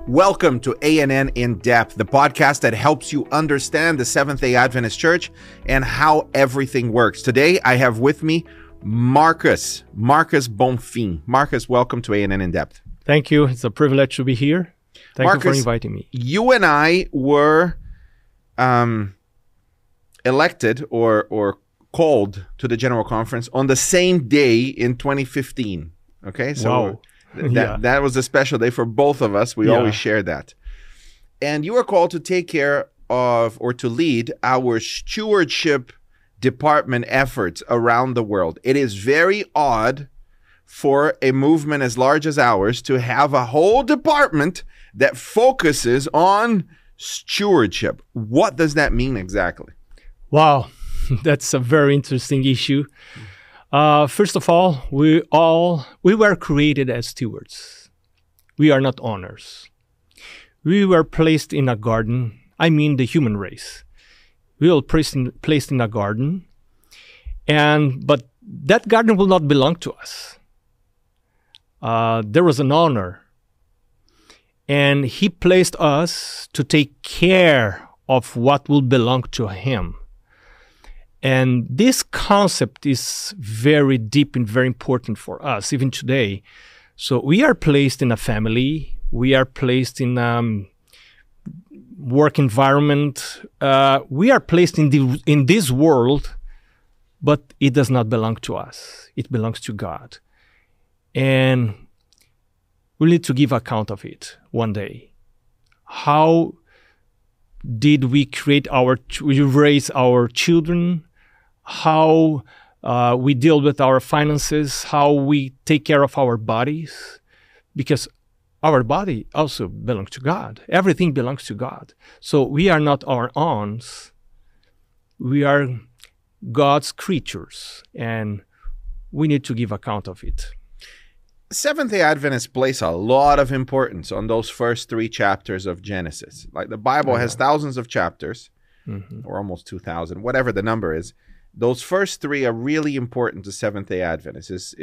Welcome to A&N In Depth, the podcast that helps you understand the Seventh-day Adventist Church and how everything works. Today, I have with me Marcus Bonfim. Marcus, welcome to A&N In Depth. Thank you. It's a privilege to be here. Thank you for inviting me. You and I were elected or called to the General Conference on the same day in 2015. Okay, so wow. That was a special day for both of us. We always share that. And you were called to take care of or to lead our stewardship department efforts around the world. It is very odd for a movement as large as ours to have a whole department that focuses on stewardship. What does that mean exactly? Wow, that's a very interesting issue. First of all, we were created as stewards. We are not owners. We were placed in a garden. I mean, the human race. We were placed in a garden, but that garden will not belong to us. There was an owner, and he placed us to take care of what will belong to him. And this concept is very deep and very important for us, even today. So we are placed in a family. We are placed in a work environment. We are placed in this world, but it does not belong to us. It belongs to God. And we need to give account of it one day. How did we raise our children? How we deal with our finances, how we take care of our bodies, because our body also belongs to God. Everything belongs to God. So we are not our own. We are God's creatures, and we need to give account of it. Seventh-day Adventists place a lot of importance on those first 3 chapters of Genesis. Like the Bible has thousands of chapters, or almost 2,000, whatever the number is. Those first 3 are really important to Seventh-day Adventists.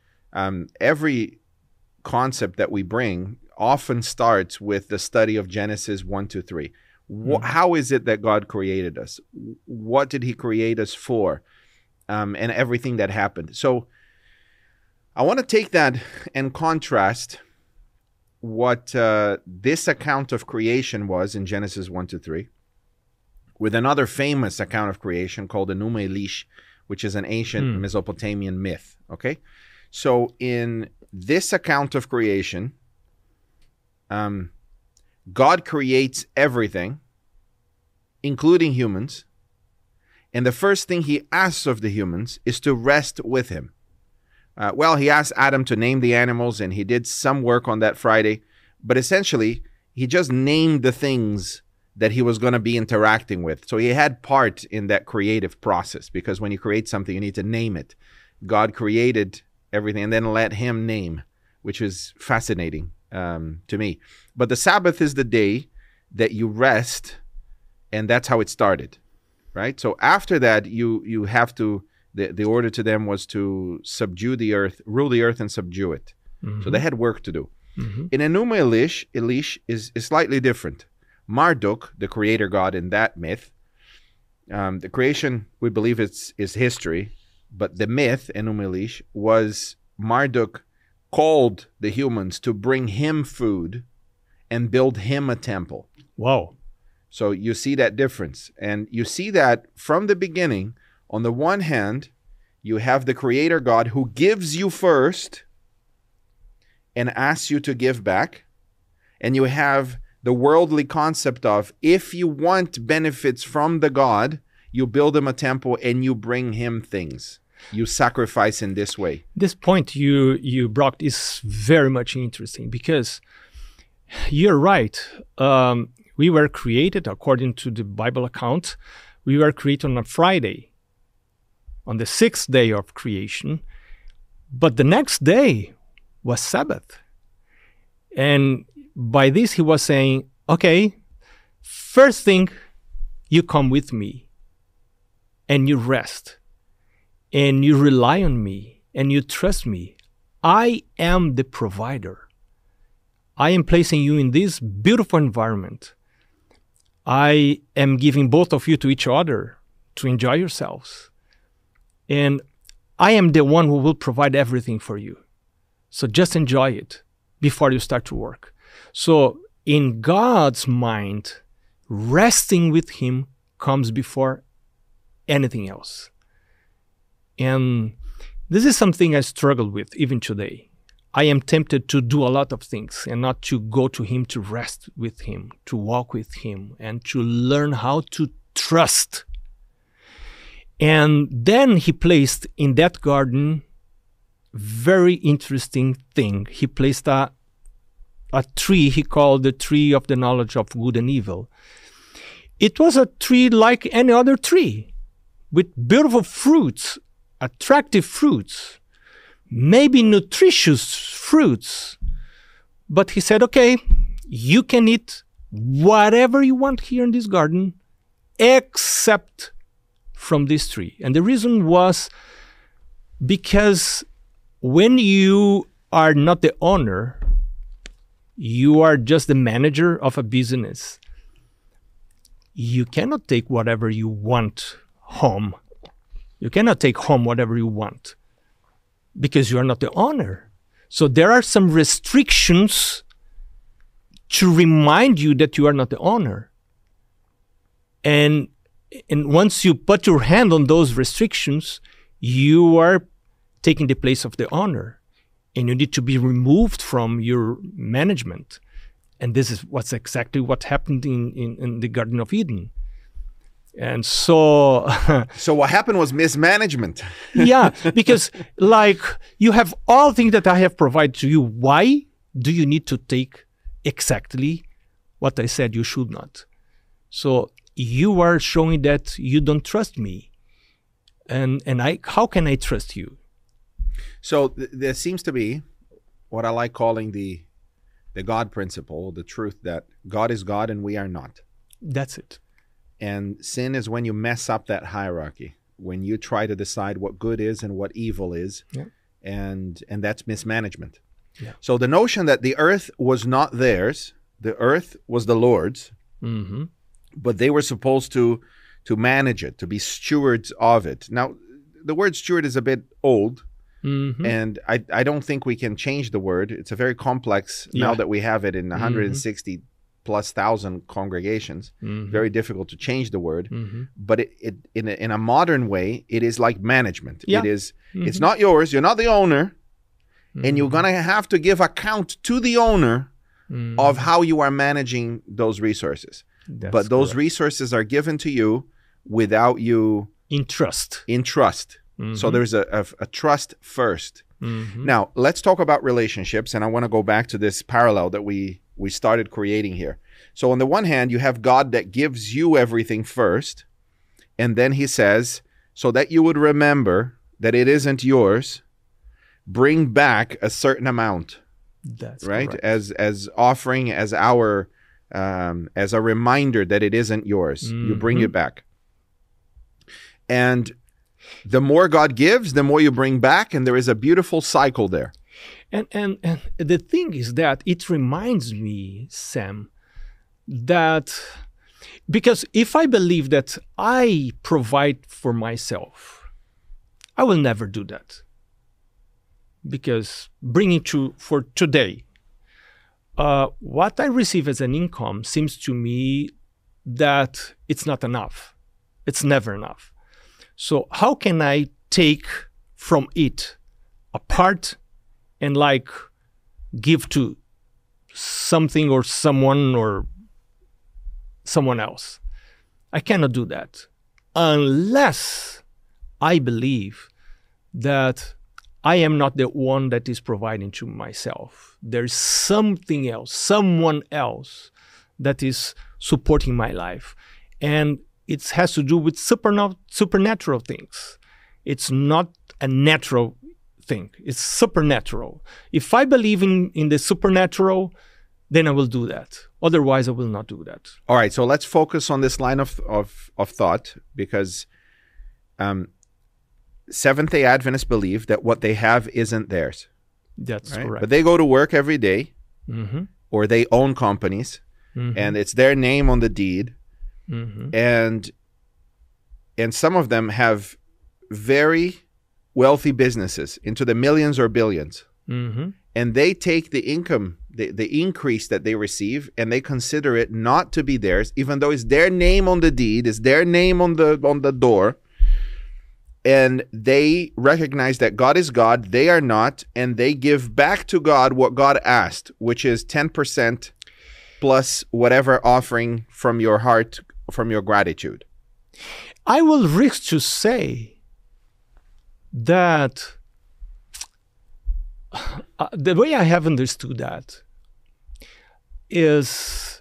Every concept that we bring often starts with the study of Genesis 1 to 3. How is it that God created us? What did he create us for? And everything that happened. So I want to take that and contrast what this account of creation was in Genesis 1 to 3 with another famous account of creation called the Enuma Elish, which is an ancient Mesopotamian myth, okay? So in this account of creation, God creates everything, including humans, and the first thing he asks of the humans is to rest with him. He asked Adam to name the animals, and he did some work on that Friday, but essentially, he just named the things that he was going to be interacting with. So he had part in that creative process, because when you create something, you need to name it. God created everything and then let him name, which is fascinating to me. But the Sabbath is the day that you rest, and that's how it started, right? So after that, you have to, the order to them was to subdue the earth, rule the earth and subdue it. So they had work to do. In Enuma Elish is slightly different. Marduk, the creator god in that myth, the creation, we believe is history, but the myth, Enuma Elish, was Marduk called the humans to bring him food and build him a temple. Wow. So you see that difference. And you see that from the beginning. On the one hand, you have the creator God who gives you first and asks you to give back. And you have the worldly concept of, if you want benefits from the God, you build him a temple and you bring him things. You sacrifice in this way. This point you brought is very much interesting, because you're right. We were created, according to the Bible account, we were created on a Friday, on the 6th day of creation. But the next day was Sabbath. And by this, he was saying, okay, first thing, you come with me and you rest and you rely on me and you trust me. I am the provider. I am placing you in this beautiful environment. I am giving both of you to each other to enjoy yourselves. And I am the one who will provide everything for you. So just enjoy it before you start to work. So in God's mind, resting with Him comes before anything else. And this is something I struggle with even today. I am tempted to do a lot of things and not to go to Him, to rest with Him, to walk with Him, and to learn how to trust. And then He placed in that garden very interesting thing. He placed a tree He called the tree of the knowledge of good and evil. It was a tree like any other tree, with beautiful fruits, attractive fruits, maybe nutritious fruits. But He said, okay, you can eat whatever you want here in this garden, except from this tree. And the reason was because when you are not the owner, you are just the manager of a business. You cannot take whatever you want home. You cannot take home whatever you want because you are not the owner. So there are some restrictions to remind you that you are not the owner. And once you put your hand on those restrictions, you are taking the place of the owner. And you need to be removed from your management. And this is exactly what happened in the Garden of Eden. And so... So what happened was mismanagement. Yeah, because like you have all things that I have provided to you. Why do you need to take exactly what I said you should not? So you are showing that you don't trust me. And how can I trust you? So there seems to be what I like calling the God principle, the truth that God is God and we are not. That's it. And sin is when you mess up that hierarchy, when you try to decide what good is and what evil is, yeah. and that's mismanagement. Yeah. So the notion that the earth was not theirs, the earth was the Lord's, mm-hmm. but they were supposed to manage it, to be stewards of it. Now, the word steward is a bit old, mm-hmm. and I don't think we can change the word. It's a very complex, now that we have it in 160 plus thousand congregations, very difficult to change the word. But it in a modern way, it is like management. Yeah. It is, it's not yours, you're not the owner, and you're going to have to give account to the owner of how you are managing those resources. But those resources are given to you without you... In trust. So there's a trust first. Now, let's talk about relationships, and I want to go back to this parallel that we started creating here. So on the one hand, you have God that gives you everything first, and then He says, so that you would remember that it isn't yours, bring back a certain amount. That's right? Correct. As offering, as our as a reminder that it isn't yours. You bring it back. And the more God gives, the more you bring back, and there is a beautiful cycle there. And the thing is that it reminds me, Sam, that because if I believe that I provide for myself, I will never do that. Because bringing for today, what I receive as an income seems to me that it's not enough. It's never enough. So how can I take from it a part and like give to something or someone or someone else? I cannot do that unless I believe that I am not the one that is providing to myself. There's something else, someone else that is supporting my life. And it has to do with supernatural things. It's not a natural thing. It's supernatural. If I believe in the supernatural, then I will do that. Otherwise, I will not do that. All right, so let's focus on this line of thought, because Seventh-day Adventists believe that what they have isn't theirs. That's right? correct. But they go to work every day, or they own companies, and it's their name on the deed, and some of them have very wealthy businesses into the millions or billions, and they take the income, the increase that they receive, and they consider it not to be theirs, even though it's their name on the deed, it's their name on the door. And they recognize that God is God, they are not, and they give back to God what God asked, which is 10% plus whatever offering from your heart, from your gratitude. I will risk to say that the way I have understood that is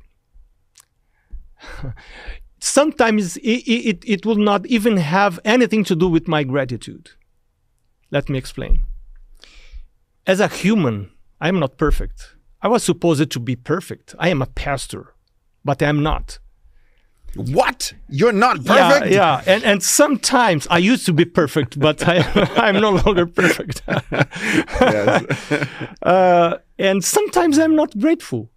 sometimes it will not even have anything to do with my gratitude. Let me explain. As a human, I am not perfect. I was supposed to be perfect. I am a pastor, but I am not. What? You're not perfect? Yeah. And sometimes I used to be perfect, but I'm no longer perfect. And sometimes I'm not grateful.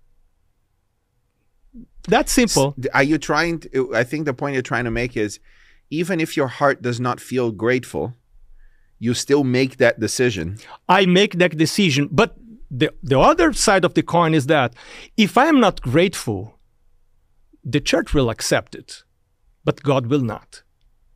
That's simple. Are you trying to, I think the point you're trying to make is, even if your heart does not feel grateful, you still make that decision. I make that decision. But the other side of the coin is that if I am not grateful, the church will accept it, but God will not.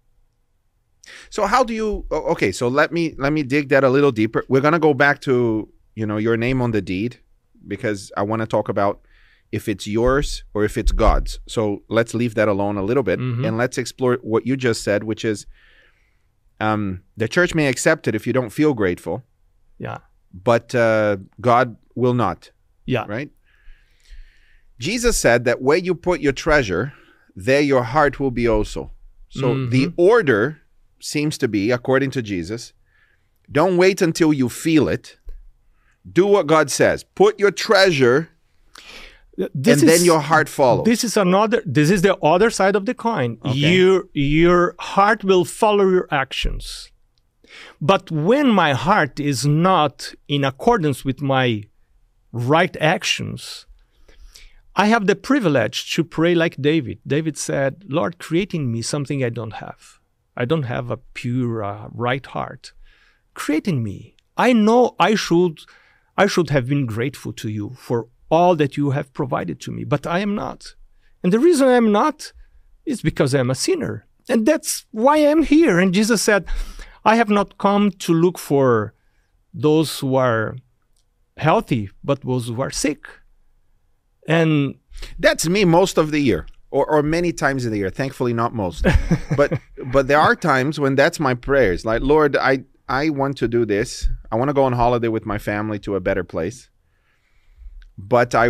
So how do you, okay, so let me dig that a little deeper. We're going to go back to, your name on the deed, because I want to talk about if it's yours or if it's God's. So let's leave that alone a little bit, and let's explore what you just said, which is the church may accept it if you don't feel grateful. Yeah. But God will not. Yeah. Right? Jesus said that where you put your treasure, there your heart will be also. So the order seems to be, according to Jesus, don't wait until you feel it. Do what God says. Put your treasure, then your heart follows. This is the other side of the coin. Okay. Your heart will follow your actions. But when my heart is not in accordance with my right actions, I have the privilege to pray like David. David said, Lord, create in me something I don't have. I don't have a pure right heart. Create in me. I know I should have been grateful to you for all that you have provided to me, but I am not. And the reason I am not is because I am a sinner. And that's why I am here. And Jesus said, I have not come to look for those who are healthy, but those who are sick. And that's me most of the year, or many times in the year. Thankfully, not most. But there are times when that's my prayers. Like, Lord, I want to do this. I want to go on holiday with my family to a better place. But I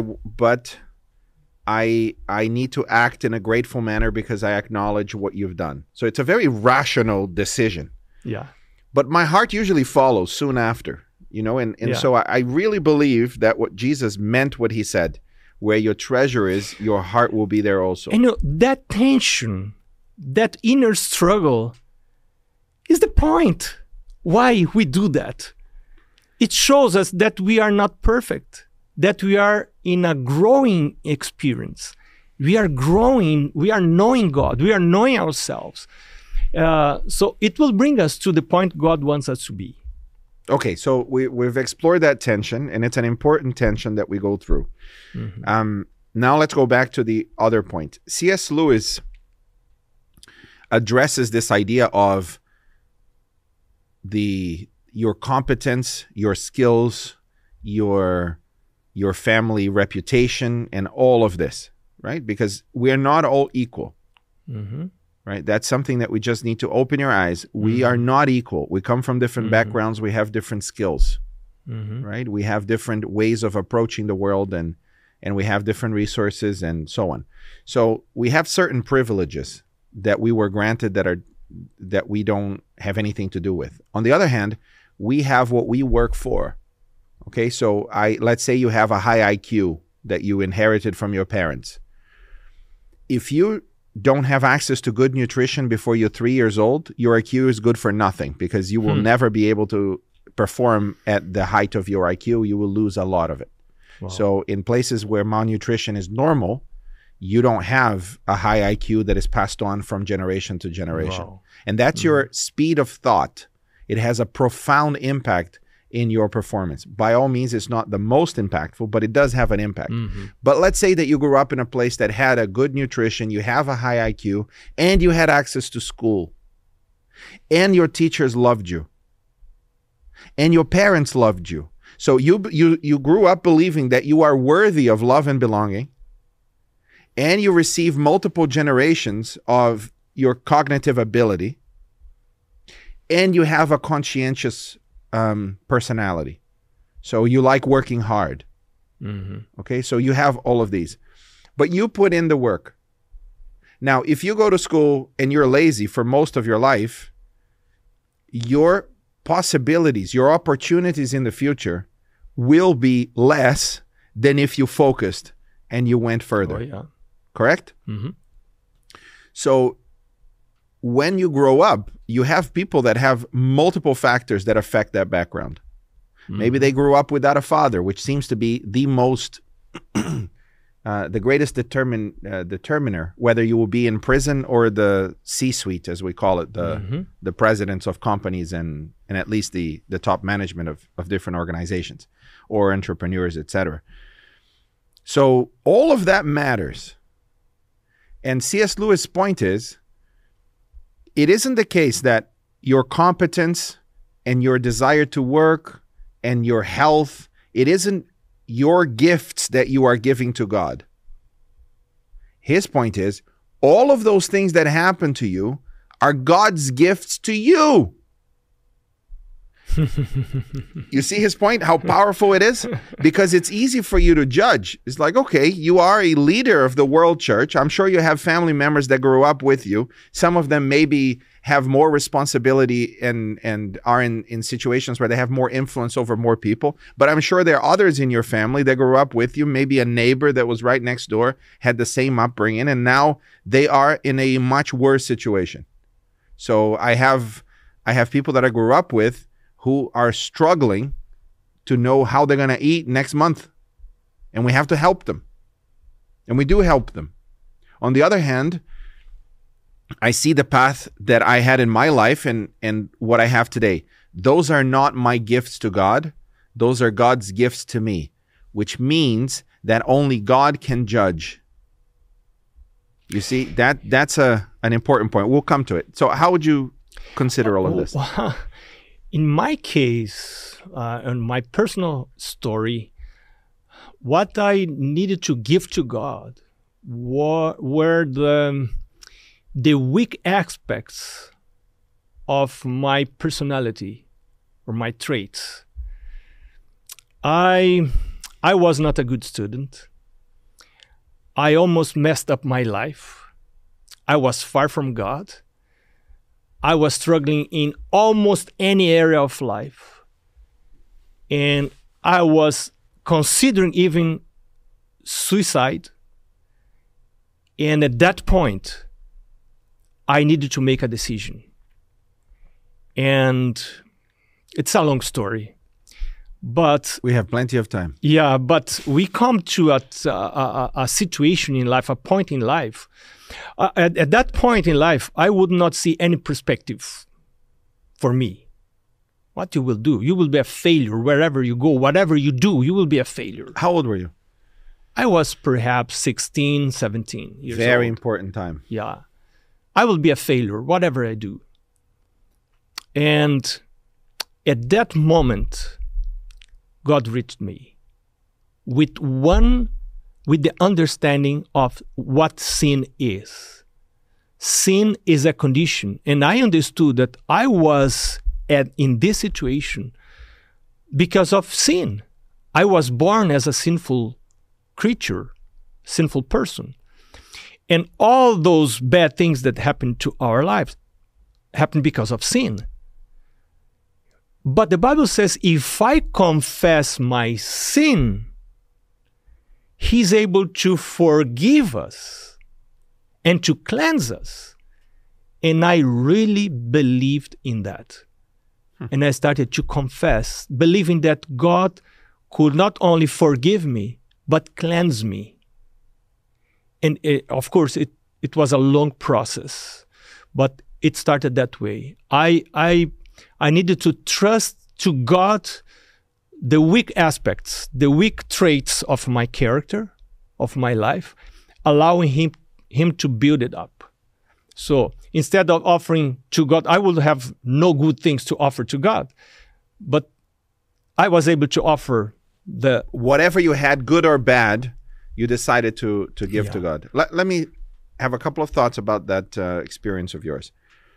need to act in a grateful manner because I acknowledge what you've done. So it's a very rational decision. Yeah. But my heart usually follows soon after, So I really believe that what Jesus meant, what he said, where your treasure is, your heart will be there also. And that tension, that inner struggle is the point why we do that. It shows us that we are not perfect, that we are in a growing experience. We are growing, we are knowing God, we are knowing ourselves. So it will bring us to the point God wants us to be. Okay, so we've explored that tension, and it's an important tension that we go through. Now let's go back to the other point. C.S. Lewis addresses this idea of your competence, your skills, your family reputation, and all of this, right? Because we're not all equal. Right? That's something that we just need to open your eyes. We are not equal. We come from different backgrounds. We have different skills, right? We have different ways of approaching the world, and we have different resources and so on. So we have certain privileges that we were granted that we don't have anything to do with. On the other hand, we have what we work for. Okay, so let's say you have a high IQ that you inherited from your parents. If you don't have access to good nutrition before you're 3 years old, your IQ is good for nothing, because you will never be able to perform at the height of your IQ. You will lose a lot of it. Wow. So in places where malnutrition is normal, you don't have a high IQ that is passed on from generation to generation. Wow. And that's your speed of thought. It has a profound impact in your performance. By all means, it's not the most impactful, but it does have an impact. But let's say that you grew up in a place that had a good nutrition, you have a high IQ, and you had access to school, and your teachers loved you, and your parents loved you. So you grew up believing that you are worthy of love and belonging, and you receive multiple generations of your cognitive ability, and you have a conscientious personality. So you like working hard. Okay, so you have all of these. But you put in the work. Now, if you go to school and you're lazy for most of your life, your possibilities, your opportunities in the future will be less than if you focused and you went further. Oh, yeah. Correct? So when you grow up, you have people that have multiple factors that affect that background. Maybe they grew up without a father, which seems to be the most, the greatest determiner, whether you will be in prison or the C-suite, as we call it, the presidents of companies and at least the top management of different organizations or entrepreneurs, etc. So all of that matters. And C.S. Lewis' point is, it isn't the case that your competence and your desire to work and your health, it isn't your gifts that you are giving to God. His point is, all of those things that happen to you are God's gifts to you. You see his point, how powerful it is? Because it's easy for you to judge. It's like, okay, you are a leader of the world church. I'm sure you have family members that grew up with you. Some of them maybe have more responsibility and are in situations where they have more influence over more people. But I'm sure there are others in your family that grew up with you. Maybe a neighbor that was right next door had the same upbringing, and now they are in a much worse situation. So I have people that I grew up with who are struggling to know how they're going to eat next month. And we have to help them. And we do help them. On the other hand, I see the path that I had in my life and what I have today. Those are not my gifts to God. Those are God's gifts to me, which means that only God can judge. You see, that's an important point. We'll come to it. So how would you consider all of this? In my case, in my personal story, what I needed to give to God were the weak aspects of my personality or my traits. I was not a good student. I almost messed up my life. I was far from God. I was struggling in almost any area of life. And I was considering even suicide. And at that point, I needed to make a decision. And it's a long story. But we have plenty of time. Yeah, but we come to a situation in life, a point in life. At that point in life, I would not see any perspective for me. What you will do? You will be a failure wherever you go. Whatever you do, you will be a failure. How old were you? I was perhaps 16, 17 years old. Very important time. Yeah. I will be a failure, whatever I do. And at that moment, God reached me with the understanding of what sin is. Sin is a condition. And I understood that I was in this situation because of sin. I was born as a sinful creature, sinful person. And all those bad things that happened to our lives happened because of sin. But the Bible says, if I confess my sin, He's able to forgive us and to cleanse us. And I really believed in that. And I started to confess, believing that God could not only forgive me, but cleanse me. And of course, it was a long process, but it started that way. I needed to trust to God the weak aspects, the weak traits of my character, of my life, allowing him to build it up. So instead of offering to God, I would have no good things to offer to God. But I was able to offer whatever you had, good or bad, you decided to give to God. Let me have a couple of thoughts about that experience of yours.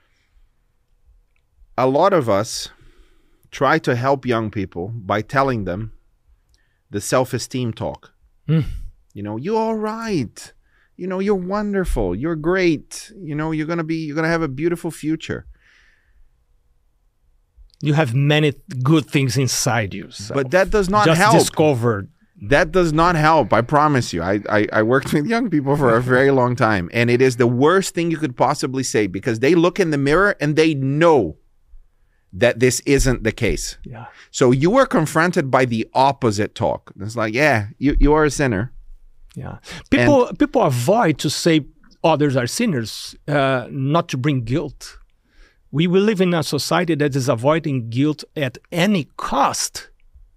A lot of us try to help young people by telling them the self-esteem talk. You know, you're all right. You know, you're wonderful. You're great. You know, you're gonna have a beautiful future. You have many good things inside you. But that does not just help. Discovered. That does not help. I promise you. I worked with young people for a very long time, and it is the worst thing you could possibly say, because they look in the mirror and they know that this isn't the case. Yeah. So you were confronted by the opposite talk. It's like, yeah, you are a sinner. Yeah. People avoid to say others are sinners, not to bring guilt. We will live in a society that is avoiding guilt at any cost.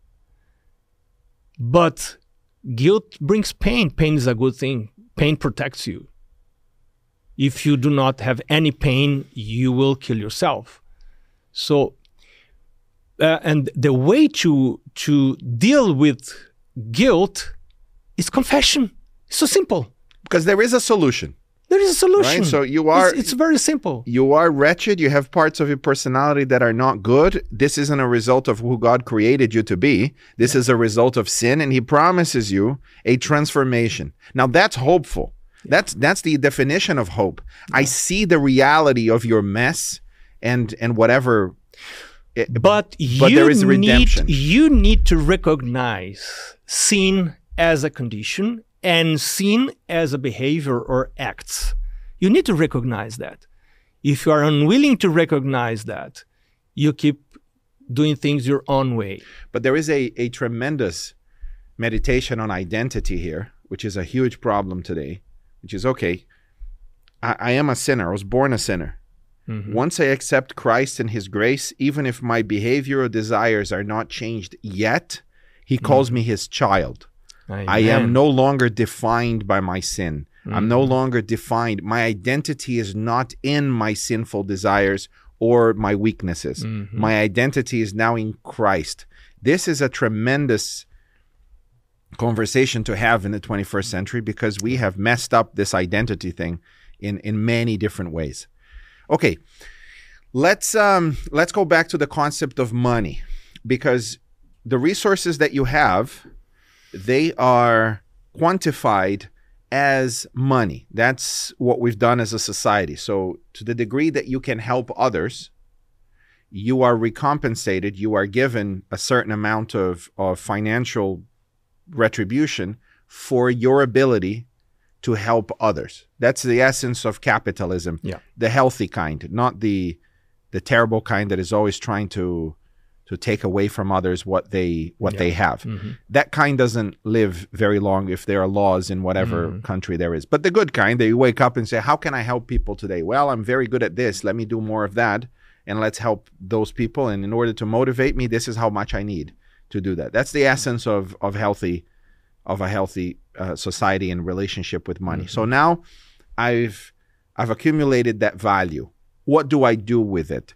But guilt brings pain. Pain is a good thing. Pain protects you. If you do not have any pain, you will kill yourself. So, and the way to deal with guilt is confession. It's so simple. Because there is a solution. There is a solution. Right? So you are... It's very simple. You are wretched. You have parts of your personality that are not good. This isn't a result of who God created you to be. This is a result of sin, and he promises you a transformation. Now, that's hopeful. That's the definition of hope. I see the reality of your mess and whatever... But there is redemption. You need to recognize sin as a condition and sin as a behavior or acts. You need to recognize that. If you are unwilling to recognize that, you keep doing things your own way. But there is a tremendous meditation on identity here, which is a huge problem today, which is, okay, I am a sinner. I was born a sinner. Mm-hmm. Once I accept Christ and his grace, even if my behavior or desires are not changed yet, he calls me his child. Amen. I am no longer defined by my sin. I'm no longer defined. My identity is not in my sinful desires or my weaknesses. My identity is now in Christ. This is a tremendous conversation to have in the 21st century, because we have messed up this identity thing in many different ways. Okay, let's go back to the concept of money, because the resources that you have, they are quantified as money. That's what we've done as a society. So to the degree that you can help others, you are recompensated. You are given a certain amount of financial retribution for your ability to help others. That's the essence of capitalism. Yeah. The healthy kind, not the terrible kind that is always trying to take away from others what they have. That kind doesn't live very long if there are laws in whatever country there is. But the good kind, they wake up and say, how can I help people today? Well, I'm very good at this. Let me do more of that, and let's help those people. And in order to motivate me, this is how much I need to do that. That's the essence of a healthy society and relationship with money. So now I've accumulated that value. What do I do with it?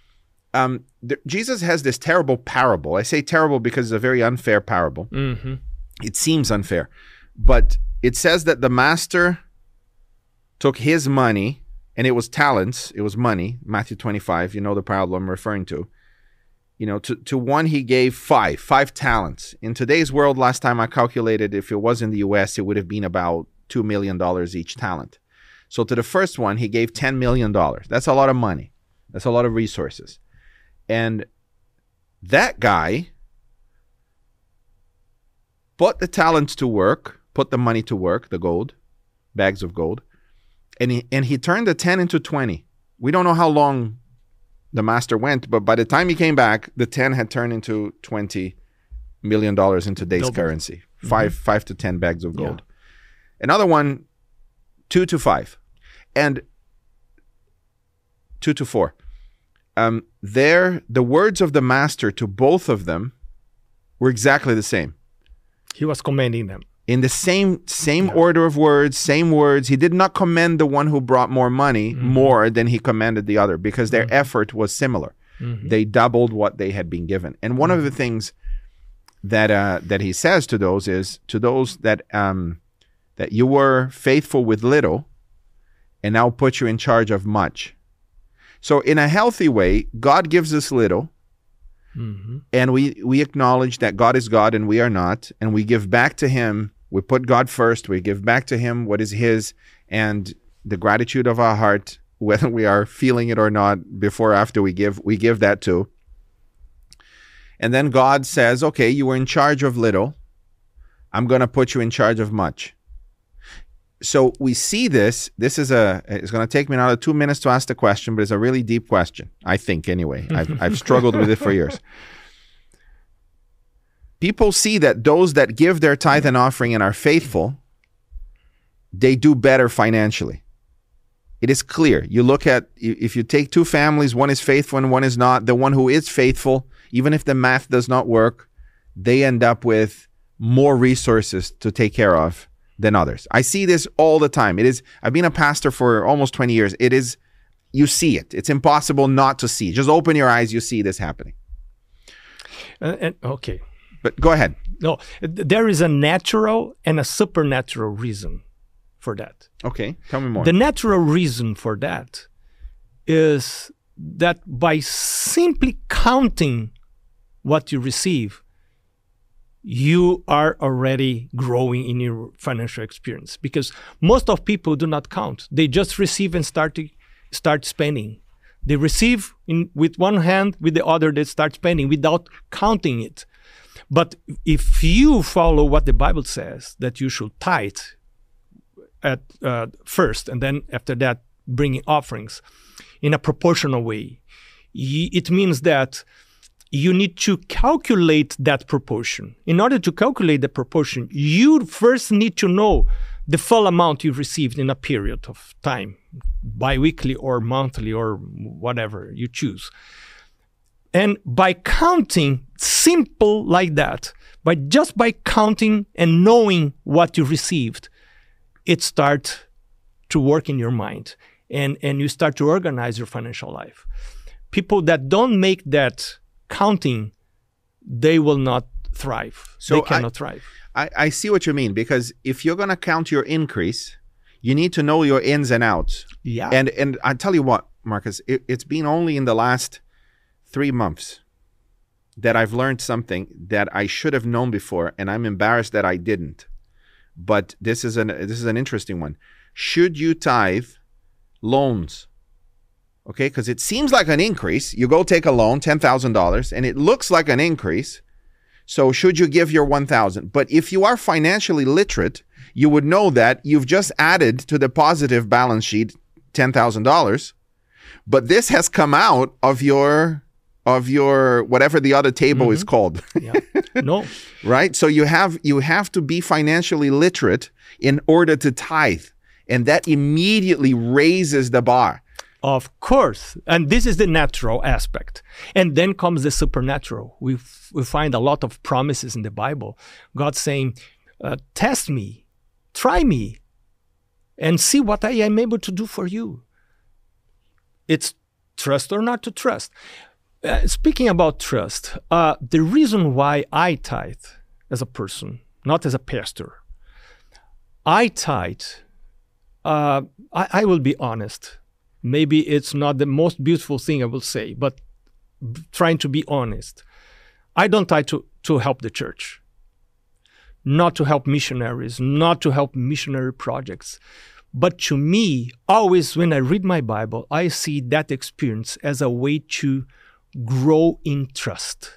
Jesus has this terrible parable. I say terrible because it's a very unfair parable. It seems unfair, but it says that the master took his money, and it was talents, it was money, Matthew 25, you know the parable I'm referring to. You know, to one he gave five talents. In today's world, last time I calculated, if it was in the US, it would have been about $2 million each talent. So to the first one, he gave $10 million. That's a lot of money. That's a lot of resources. And that guy put the talents to work, put the money to work, the gold, bags of gold, and he turned the 10 into 20. We don't know how long the master went, but by the time he came back, the 10 had turned into 20 million in today's currency. Five to 10 bags of gold. Yeah. Another one, 2 to 5. And 2 to 4. The words of the master to both of them were exactly the same. He was commending them. In the same order of words, same words. He did not commend the one who brought more money more than he commended the other, because their effort was similar. They doubled what they had been given. And one of the things that he says to those is, to those that you were faithful with little, and now put you in charge of much. So in a healthy way, God gives us little, and we acknowledge that God is God and we are not, and we give back to him. We put God first. We give back to him what is his, and the gratitude of our heart, whether we are feeling it or not, before or after we give that too. And then God says, okay, you were in charge of little. I'm going to put you in charge of much. So we see this. This is it's going to take me another 2 minutes to ask the question, but it's a really deep question, I think, anyway. I've struggled with it for years. People see that those that give their tithe and offering and are faithful, they do better financially. It is clear. You look at, if you take two families, one is faithful and one is not, the one who is faithful, even if the math does not work, they end up with more resources to take care of than others. I see this all the time. I've been a pastor for almost 20 years. You see it. It's impossible not to see. Just open your eyes, you see this happening. Okay. But go ahead. No, there is a natural and a supernatural reason for that. Okay, tell me more. The natural reason for that is that by simply counting what you receive, you are already growing in your financial experience, because most of people do not count. They just receive and start spending. They receive with one hand, with the other they start spending without counting it. But if you follow what the Bible says, that you should tithe at first, and then after that bringing offerings in a proportional way, it means that you need to calculate that proportion. In order to calculate the proportion, you first need to know the full amount you've received in a period of time, bi-weekly or monthly or whatever you choose. And by counting, simple like that, just by counting and knowing what you received, it starts to work in your mind, and you start to organize your financial life. People that don't make that counting, they will not thrive. So they cannot thrive. I see what you mean, because if you're going to count your increase, you need to know your ins and outs. Yeah. And I tell you what, Marcus, it's been only in the last 3 months that I've learned something that I should have known before, and I'm embarrassed that I didn't. But this is an interesting one. Should you tithe loans? Okay, because it seems like an increase. You go take a loan, $10,000, and it looks like an increase. So should you give your $1,000? But if you are financially literate, you would know that you've just added to the positive balance sheet $10,000, but this has come out of your whatever the other table is called. Yeah. No. Right? So you have to be financially literate in order to tithe, and that immediately raises the bar. Of course. And this is the natural aspect. And then comes the supernatural. We find a lot of promises in the Bible. God saying, test me, try me, and see what I am able to do for you. It's trust or not to trust. Speaking about trust, the reason why I tithe as a person, not as a pastor, I tithe, I will be honest. Maybe it's not the most beautiful thing I will say, but trying to be honest. I don't tithe to help the church, not to help missionaries, not to help missionary projects. But to me, always when I read my Bible, I see that experience as a way to grow in trust.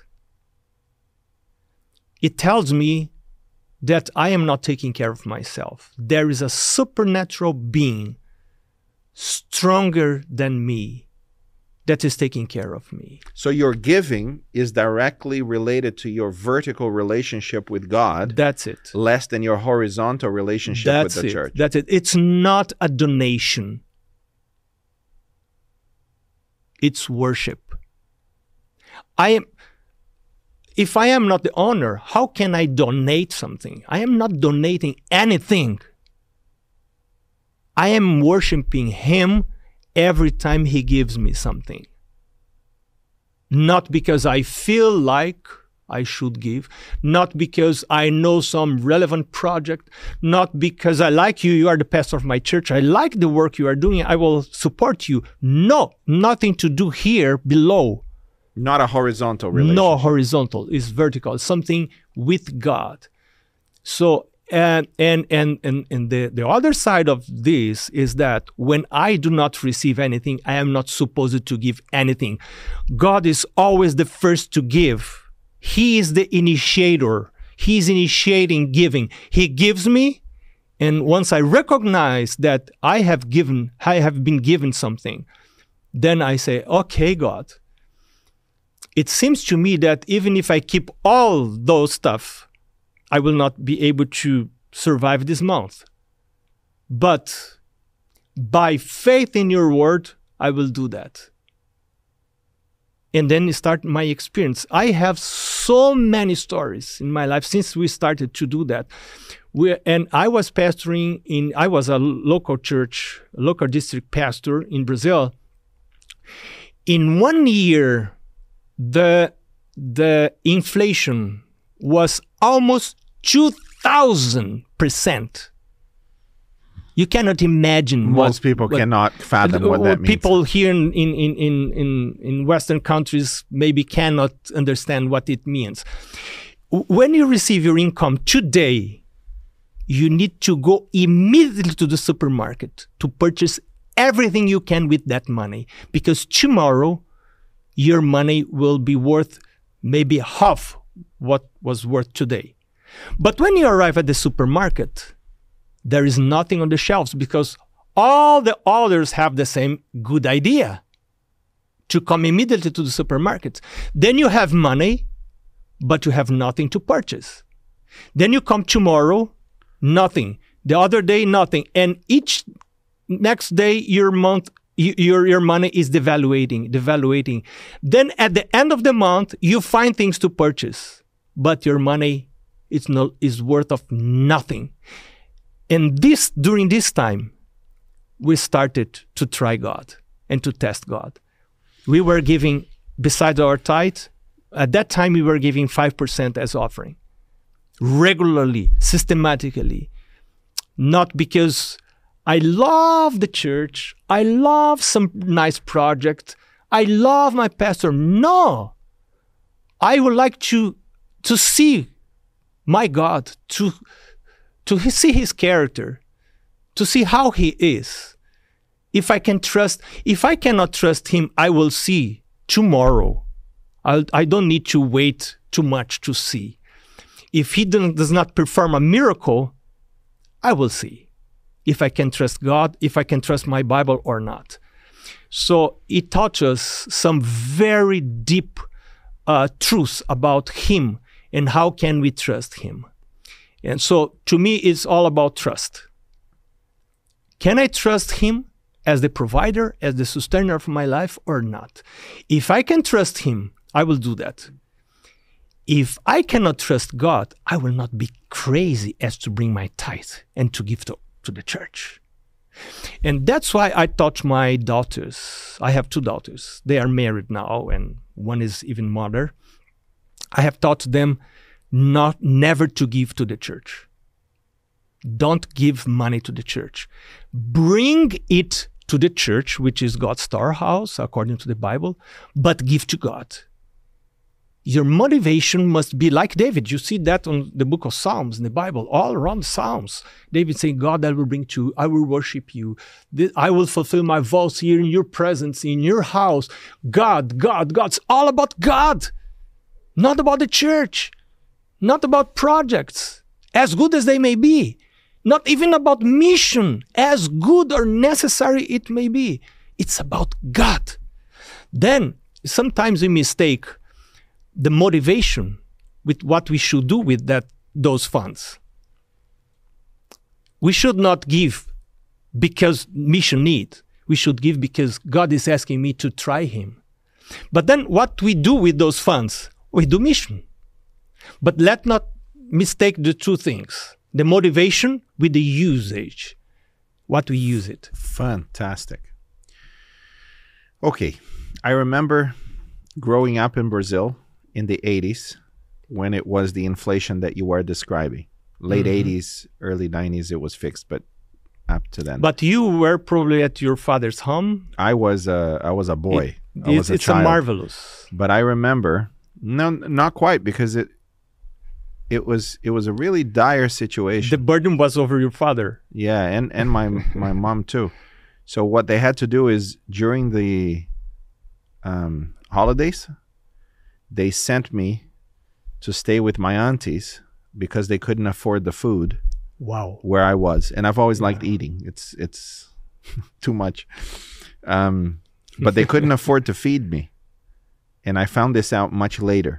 It tells me that I am not taking care of myself. There is a supernatural being stronger than me that is taking care of me. So your giving is directly related to your vertical relationship with God, That's it. less than your horizontal relationship That's with the it. church. That's it. It's not a donation. It's worship. If I am not the owner, how can I donate something? I am not donating anything. I am worshiping him every time he gives me something. Not because I feel like I should give, not because I know some relevant project, not because I like you, you are the pastor of my church, I like the work you are doing, I will support you. No, nothing to do here below. Not a horizontal relationship. No horizontal, it's vertical, something with God. So, and the other side of this is that when I do not receive anything, I am not supposed to give anything. God is always the first to give. He is the initiator. He is initiating giving. He gives me, and once I recognize that I have been given something, then I say, okay, God, it seems to me that even if I keep all those stuff, I will not be able to survive this month. But by faith in your word, I will do that. And then start my experience. I have so many stories in my life since we started to do that. And I was pastoring I was a local church, local district pastor in Brazil. In 1 year, the inflation was almost 2,000%. You cannot imagine. Most people cannot fathom what that means. People here in Western countries maybe cannot understand what it means. When you receive your income today, you need to go immediately to the supermarket to purchase everything you can with that money, because tomorrow your money will be worth maybe half what was worth today. But when you arrive at the supermarket, there is nothing on the shelves because all the others have the same good idea to come immediately to the supermarket. Then you have money, but you have nothing to purchase. Then you come tomorrow, nothing. The other day, nothing. And each next day, your money is devaluating. Then at the end of the month, you find things to purchase, but your money is worth of nothing. And during this time, we started to try God and to test God. We were giving, besides our tithe, at that time we were giving 5% as offering. Regularly, systematically. Not because I love the church, I love some nice project, I love my pastor. No! I would like to see my God, to see his character, to see how he is. If I cannot trust him, I will see tomorrow. I don't need to wait too much to see. If he does not perform a miracle, I will see if I can trust God, if I can trust my Bible or not. So it taught us some very deep truths about him and how can we trust him. And so, to me, it's all about trust. Can I trust him as the provider, as the sustainer of my life, or not? If I can trust him, I will do that. If I cannot trust God, I will not be crazy as to bring my tithe and to give to the church. And that's why I taught my daughters. I have 2 daughters. They are married now, and one is even mother. I have taught them never to give to the church. Don't give money to the church. Bring it to the church, which is God's storehouse, according to the Bible, but give to God. Your motivation must be like David. You see that on the book of Psalms in the Bible, all around the Psalms. David saying, God, I will bring to you, I will worship you. I will fulfill my vows here in your presence, in your house. God, it's all about God, not about the church. Not about projects, as good as they may be. Not even about mission, as good or necessary it may be. It's about God. Then sometimes we mistake the motivation with what we should do with those funds. We should not give because mission need. We should give because God is asking me to try him. But then what we do with those funds, we do mission. But let not mistake the two things, the motivation with the usage, what we use it. Fantastic. Okay, I remember growing up in Brazil in the 80s when it was the inflation that you were describing. Late 80s, early 90s, it was fixed, but up to then. But you were probably at your father's home. I was a boy. I was a It's child. a marvelous. But I remember, no, not quite, because it was a really dire situation. The burden was over your father. Yeah, and my mom too. So what they had to do is during the holidays, they sent me to stay with my aunties because they couldn't afford the food Wow. where I was. And I've always liked eating. It's too much. But they couldn't afford to feed me. And I found this out much later.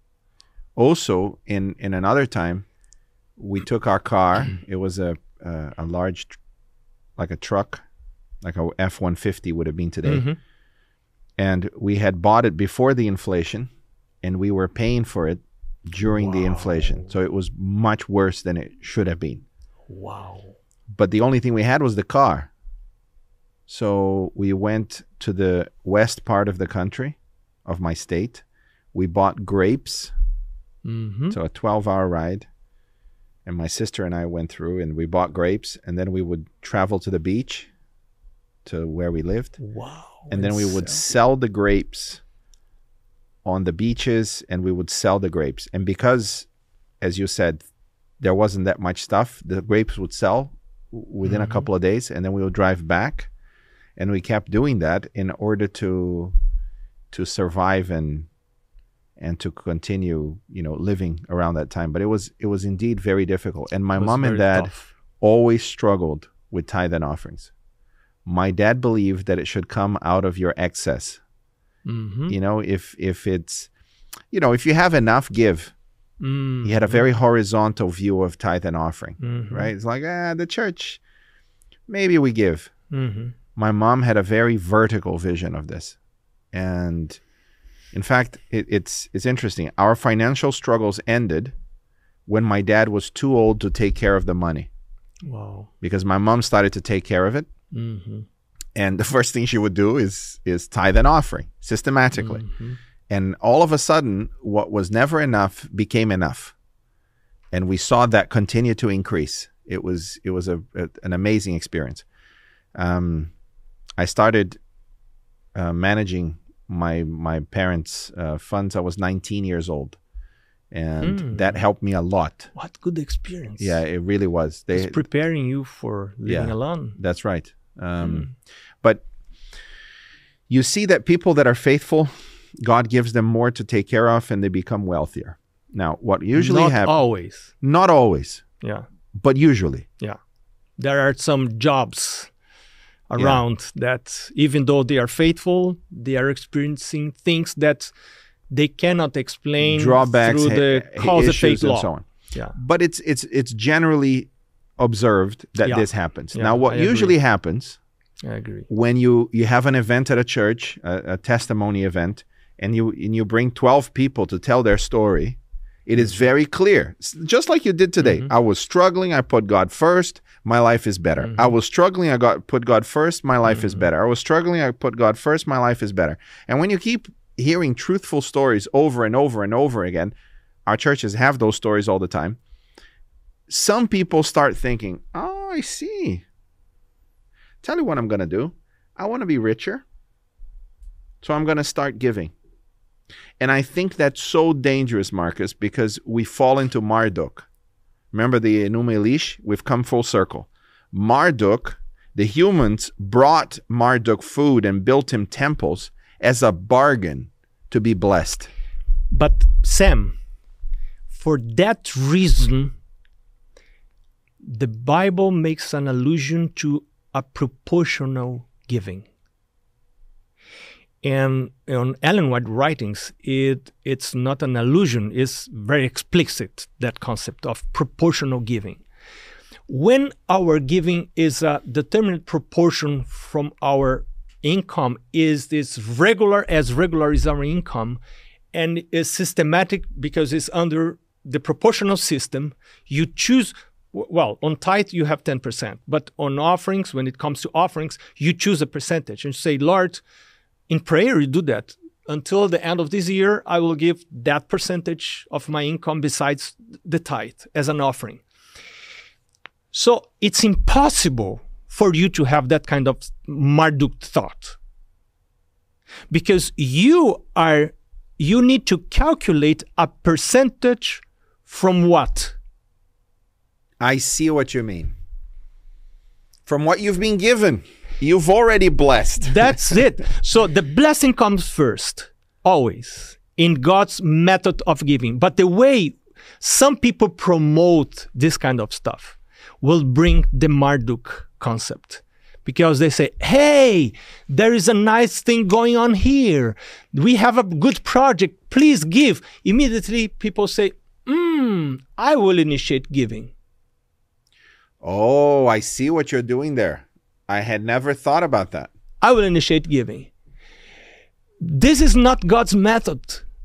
Also, in another time, we took our car. It was a large, like a truck, like a F-150 would have been today. And we had bought it before the inflation, and we were paying for it during the inflation. So it was much worse than it should have been. Wow. But the only thing we had was the car. So we went to the west part of the country, of my state. We bought grapes. So a 12-hour ride. And my sister and I went through and we bought grapes. And then we would travel to the beach to where we lived. Wow. And then we would sell the grapes on the beaches, and we would sell the grapes. And because, as you said, there wasn't that much stuff, the grapes would sell within a couple of days, and then we would drive back. And we kept doing that in order to survive and to continue, living around that time. But it was indeed very difficult. And my mom and dad always struggled with tithe and offerings. My dad believed that it should come out of your excess. If it's, if you have enough, give. He had a very horizontal view of tithe and offering, right? It's like, the church, maybe we give. My mom had a very vertical vision of this. And in fact, it's interesting. Our financial struggles ended when my dad was too old to take care of the money. Wow. Because my mom started to take care of it. And the first thing she would do is tithe and offering systematically. And all of a sudden, what was never enough became enough. And we saw that continue to increase. It was an amazing experience. I started managing my parents' funds. I was 19 years old. And that helped me a lot. What good experience. Yeah, it really was. It's preparing you for living alone. That's right. But you see that people that are faithful, God gives them more to take care of and they become wealthier. Now, what usually happens... Not always. Not always. Yeah. But usually. Yeah. There are some jobs around that even though they are faithful, they are experiencing things that they cannot explain drawbacks, through the cause and effect law. And so on. Yeah. But it's generally observed that this happens. Yeah, now, what usually happens... I agree. When you have an event at a church, a testimony event, and you bring 12 people to tell their story, it is very clear. Just like you did today. I was struggling. I put God first. My life is better. I was struggling. I put God first. My life is better. I was struggling. I put God first. My life is better. And when you keep hearing truthful stories over and over and over again, our churches have those stories all the time. Some people start thinking, oh, I see. Tell you what I'm going to do. I want to be richer. So I'm going to start giving. And I think that's so dangerous, Marcus, because we fall into Marduk. Remember the Enuma Elish? We've come full circle. Marduk, the humans brought Marduk food and built him temples as a bargain to be blessed. But Sam, for that reason, the Bible makes an allusion to a proportional giving. And on Ellen White writings, it's not an allusion, it's very explicit, that concept of proportional giving. When our giving is a determinate proportion from our income, is this regular as our income, and is systematic because it's under the proportional system, you choose, well, on tithe you have 10%, but on offerings, when it comes to offerings, you choose a percentage and say, Lord, in prayer, you do that. Until the end of this year, I will give that percentage of my income besides the tithe as an offering. So it's impossible for you to have that kind of Marduk thought. Because you need to calculate a percentage from what? I see what you mean. From what you've been given. You've already blessed. That's it. So the blessing comes first, always, in God's method of giving. But the way some people promote this kind of stuff will bring the Marduk concept. Because they say, hey, there is a nice thing going on here. We have a good project. Please give. Immediately people say, I will initiate giving. Oh, I see what you're doing there. I had never thought about that. I will initiate giving. This is not God's method.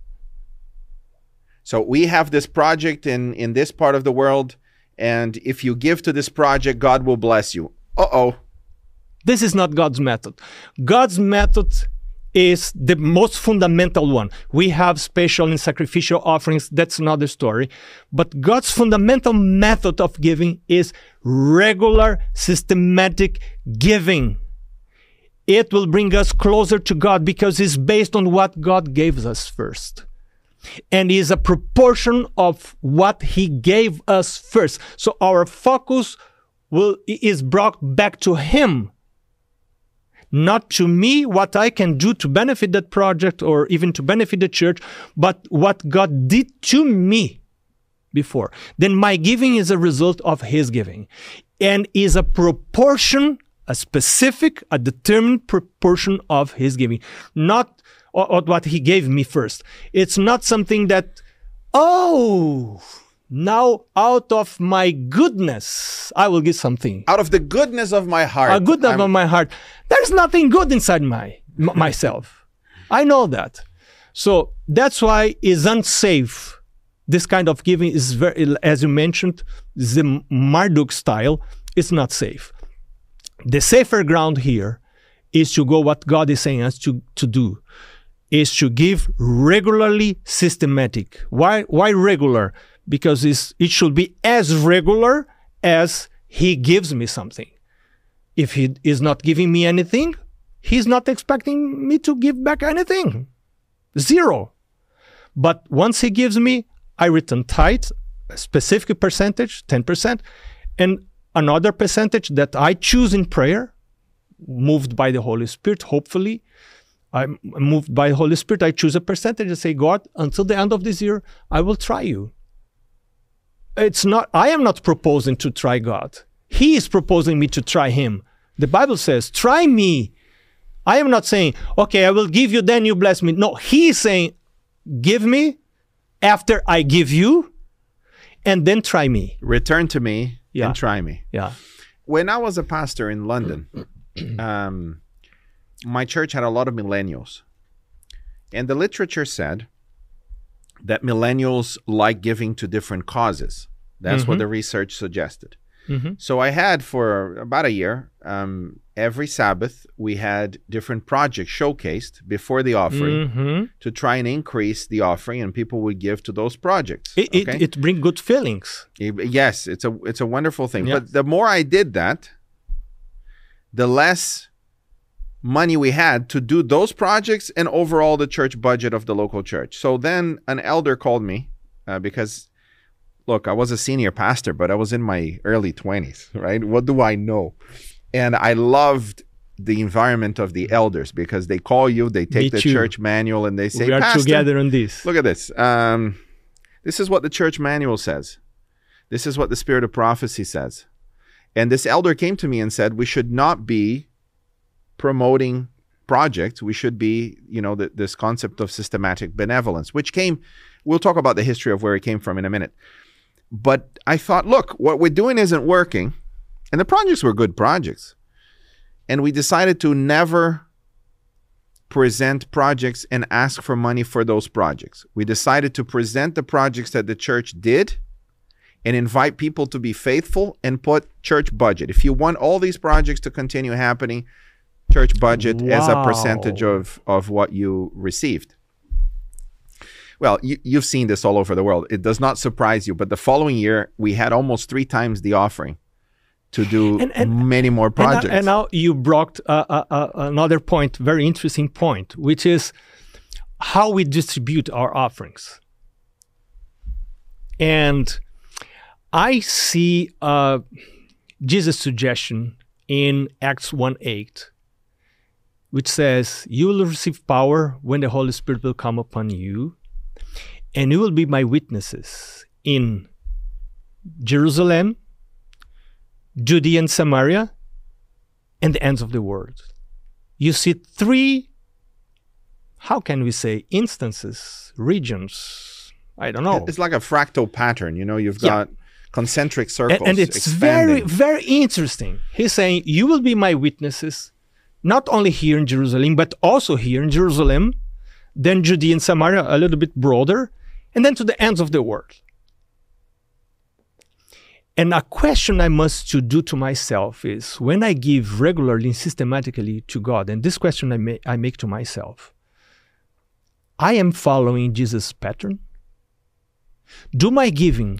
So we have this project in this part of the world, and if you give to this project, God will bless you. Uh-oh. This is not God's method. God's method is the most fundamental one. We have special and sacrificial offerings. That's another story. But God's fundamental method of giving is regular, systematic giving. It will bring us closer to God because it's based on what God gave us first. And is a proportion of what He gave us first. So our focus is brought back to Him. Not to me, what I can do to benefit that project or even to benefit the church, but what God did to me before. Then my giving is a result of His giving. And is a proportion, a specific, a determined proportion of His giving. Not what He gave me first. It's not something that, now out of my goodness, I will give something. Out of the goodness of my heart. A goodness of my heart. There's nothing good inside myself. I know that. So that's why it's unsafe. This kind of giving is very, as you mentioned, the Marduk style. It's not safe. The safer ground here is to go what God is saying us to do. Is to give regularly, systematic. Why regular? Because it should be as regular as He gives me something. If He is not giving me anything, He's not expecting me to give back anything. Zero. But once He gives me, I return tithe, a specific percentage, 10%, and another percentage that I choose in prayer, moved by the Holy Spirit, hopefully. I'm moved by the Holy Spirit. I choose a percentage and say, God, until the end of this year, I will try you. I am not proposing to try God. He is proposing me to try Him. The Bible says, try me. I am not saying, okay, I will give you, then you bless me. No, He is saying, give me after I give you, and then try me. Return to me and try me. Yeah. When I was a pastor in London, my church had a lot of millennials. And the literature said that millennials like giving to different causes. That's what the research suggested. So I had for about a year, every Sabbath, we had different projects showcased before the offering to try and increase the offering, and people would give to those projects. It brings good feelings. Yes, it's a wonderful thing. Yeah. But the more I did that, the less money we had to do those projects and overall the church budget of the local church. So then an elder called me because, look, I was a senior pastor, but I was in my early 20s, right? What do I know? And I loved the environment of the elders because they call you, they take the church manual and they say, we are Pastor, together on this. Look at this. This is what the church manual says. This is what the spirit of prophecy says. And this elder came to me and said, we should not be promoting project, we should be, this concept of systematic benevolence, which we'll talk about the history of where it came from in a minute. But I thought, look, what we're doing isn't working. And the projects were good projects. And we decided to never present projects and ask for money for those projects. We decided to present the projects that the church did and invite people to be faithful and put church budget. If you want all these projects to continue happening, church budget as a percentage of what you received. Well, you've seen this all over the world. It does not surprise you, but the following year, we had almost 3 times the offering to do many more projects. And now you brought another point, very interesting point, which is how we distribute our offerings. And I see Jesus' suggestion in Acts 1:8, which says, "You will receive power when the Holy Spirit will come upon you, and you will be my witnesses in Jerusalem, Judea and Samaria, and the ends of the world." You see 3, how can we say, instances, regions, I don't know. It's like a fractal pattern, you've got concentric circles. And it's expanding. very, very interesting. He's saying, you will be my witnesses, not only here in Jerusalem, but also here in Jerusalem, then Judea and Samaria, a little bit broader, and then to the ends of the world. And a question I must do to myself is, when I give regularly and systematically to God, and this question I make to myself, I am following Jesus' pattern? Do my giving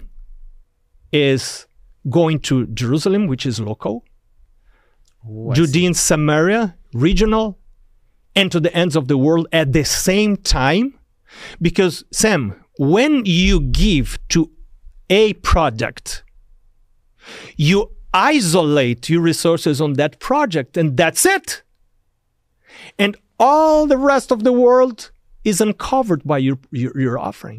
is going to Jerusalem, which is local, Judea and Samaria, regional, and to the ends of the world at the same time? Because, Sam, when you give to a project, you isolate your resources on that project, and that's it. And all the rest of the world is uncovered by your offering.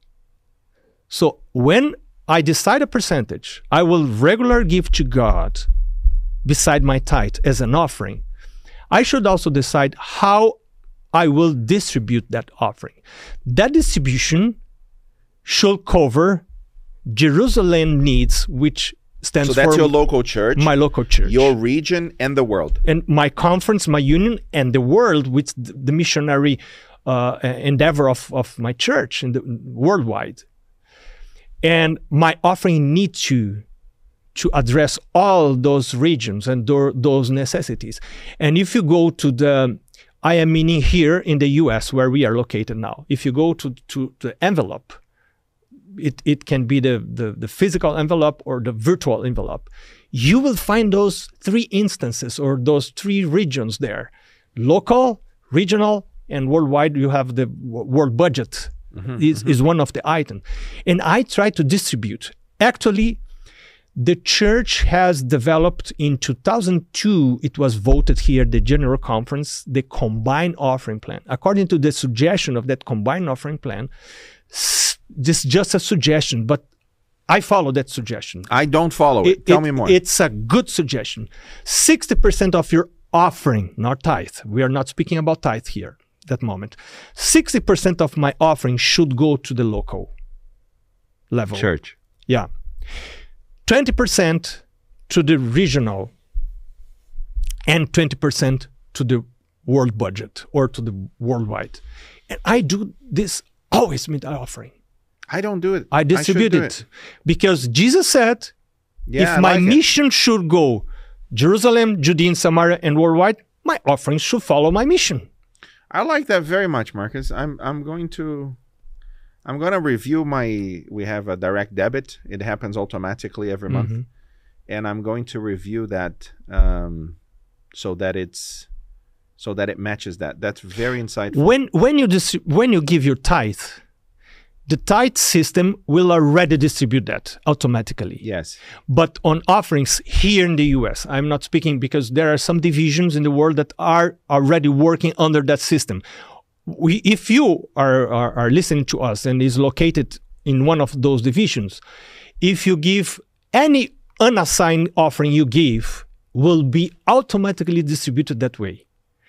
So when I decide a percentage, I will regularly give to God beside my tithe as an offering. I should also decide how I will distribute that offering. That distribution should cover Jerusalem needs, which stands for... So that's your local church? My local church. Your region and the world. And my conference, my union, and the world, with the missionary endeavor of my church and worldwide. And my offering needs to address all those regions and those necessities. And if you go to the... I am meaning here in the US, where we are located now. If you go to the envelope, it can be the physical envelope or the virtual envelope. You will find those 3 instances or those 3 regions there. Local, regional, and worldwide. You have the world budget is one of the items. And I try to distribute. Actually, the church has developed in 2002, it was voted here, the General Conference, the combined offering plan. According to the suggestion of that combined offering plan, this is just a suggestion, but I follow that suggestion. I don't follow it. Tell me more. It's a good suggestion. 60% of your offering, not tithe. We are not speaking about tithe here at that moment. 60% of my offering should go to the local level. Church. Yeah. 20% to the regional, and 20% to the world budget or to the worldwide. And I do this always with the offering. I don't do it. I distribute it. Because Jesus said, if my mission should go Jerusalem, Judea, and Samaria, and worldwide, my offerings should follow my mission. I like that very much, Marcus. I'm going to review we have a direct debit. It happens automatically every month. And I'm going to review that so that it matches that. That's very insightful. When you give your tithe, the tithe system will already distribute that automatically. Yes. But on offerings here in the US, I'm not speaking because there are some divisions in the world that are already working under that system. If you are listening to us and is located in one of those divisions, if you give any unassigned offering you give, will be automatically distributed that way.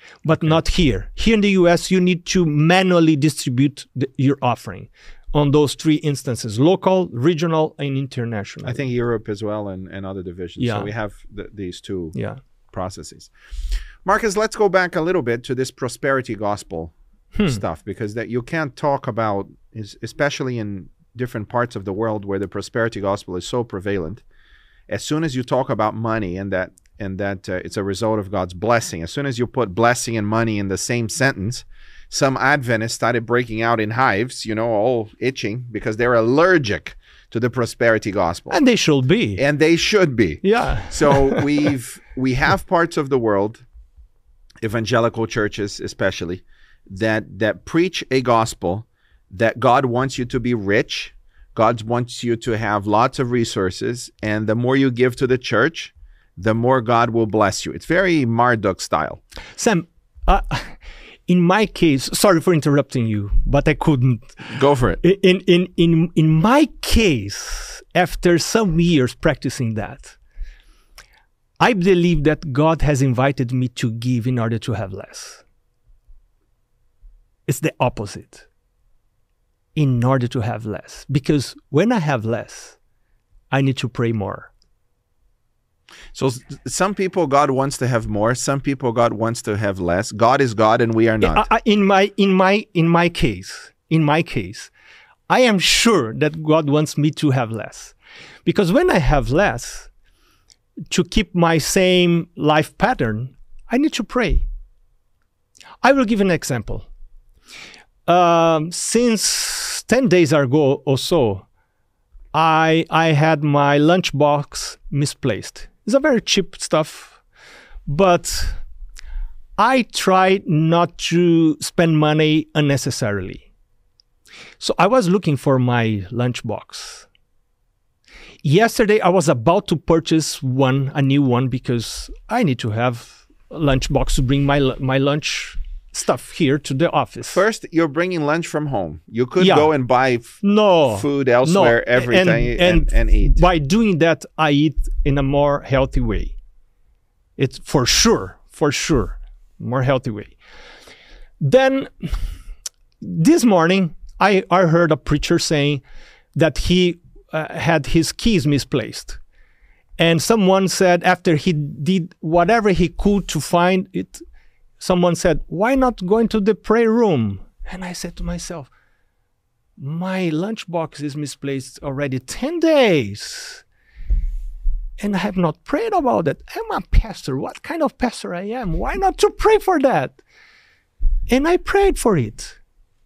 but not here. Here in the US, you need to manually distribute your offering on those three instances: local, regional, and international. I think Europe as well, and other divisions. Yeah. So we have these two Yeah. processes. Marcus, let's go back a little bit to this prosperity gospel stuff, because that you can't talk about, especially in different parts of the world where the prosperity gospel is so prevalent. As soon as you talk about money and that it's a result of God's blessing, as soon as you put blessing and money in the same sentence, some Adventists started breaking out in hives, all itching because they're allergic to the prosperity gospel. And they should be. And they should be. Yeah. So we have parts of the world, evangelical churches especially, that preach a gospel that God wants you to be rich, God wants you to have lots of resources, and the more you give to the church, the more God will bless you. It's very Marduk style. Sam, in my case, sorry for interrupting you, but I couldn't. Go for it. In my case, after some years practicing that, I believe that God has invited me to give in order to have less. It's the opposite. In order to have less. Because when I have less, I need to pray more. So some people God wants to have more, some people God wants to have less. God is God and we are not. In my case, I am sure that God wants me to have less. Because when I have less, to keep my same life pattern, I need to pray. I will give an example. Since 10 days ago or so, I had my lunchbox misplaced. It's a very cheap stuff, but I try not to spend money unnecessarily. So I was looking for my lunchbox. Yesterday, I was about to purchase a new one, because I need to have a lunchbox to bring my lunch stuff here to the office. First, you're bringing lunch from home. You could go and buy food elsewhere every day and eat. By doing that, I eat in a more healthy way. It's for sure, more healthy way. Then, this morning, I heard a preacher saying that he had his keys misplaced. And someone said, after he did whatever he could to find it, someone said, why not go into the prayer room? And I said to myself, my lunchbox is misplaced already 10 days. And I have not prayed about it. I'm a pastor. What kind of pastor I am? Why not to pray for that? And I prayed for it.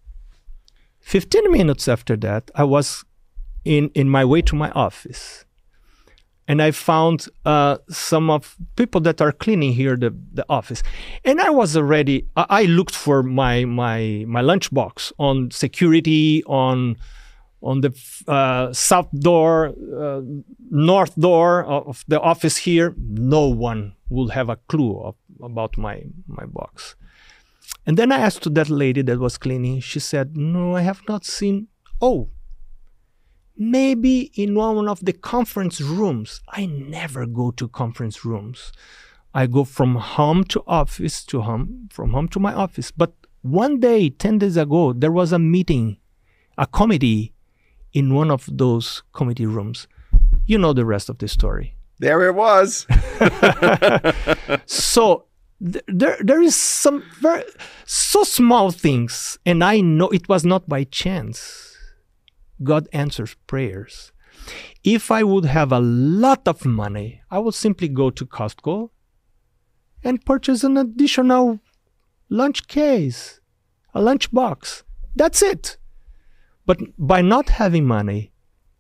15 minutes after that, I was in my way to my office. And I found some of people that are cleaning here the office. And I was already, I looked for my lunchbox on security, on the south door, north door of the office here. No one will have a clue about my box. And then I asked to that lady that was cleaning. She said, no, I have not seen. Oh, maybe in one of the conference rooms. I never go to conference rooms. I go from home to office to home, from home to my office. But one day, 10 days ago, there was a meeting, a committee in one of those committee rooms. You know the rest of the story. There it was. So there is some so small things, and I know it was not by chance. God answers prayers. If I would have a lot of money, I would simply go to Costco and purchase an additional lunch case, a lunch box. That's it. But by not having money,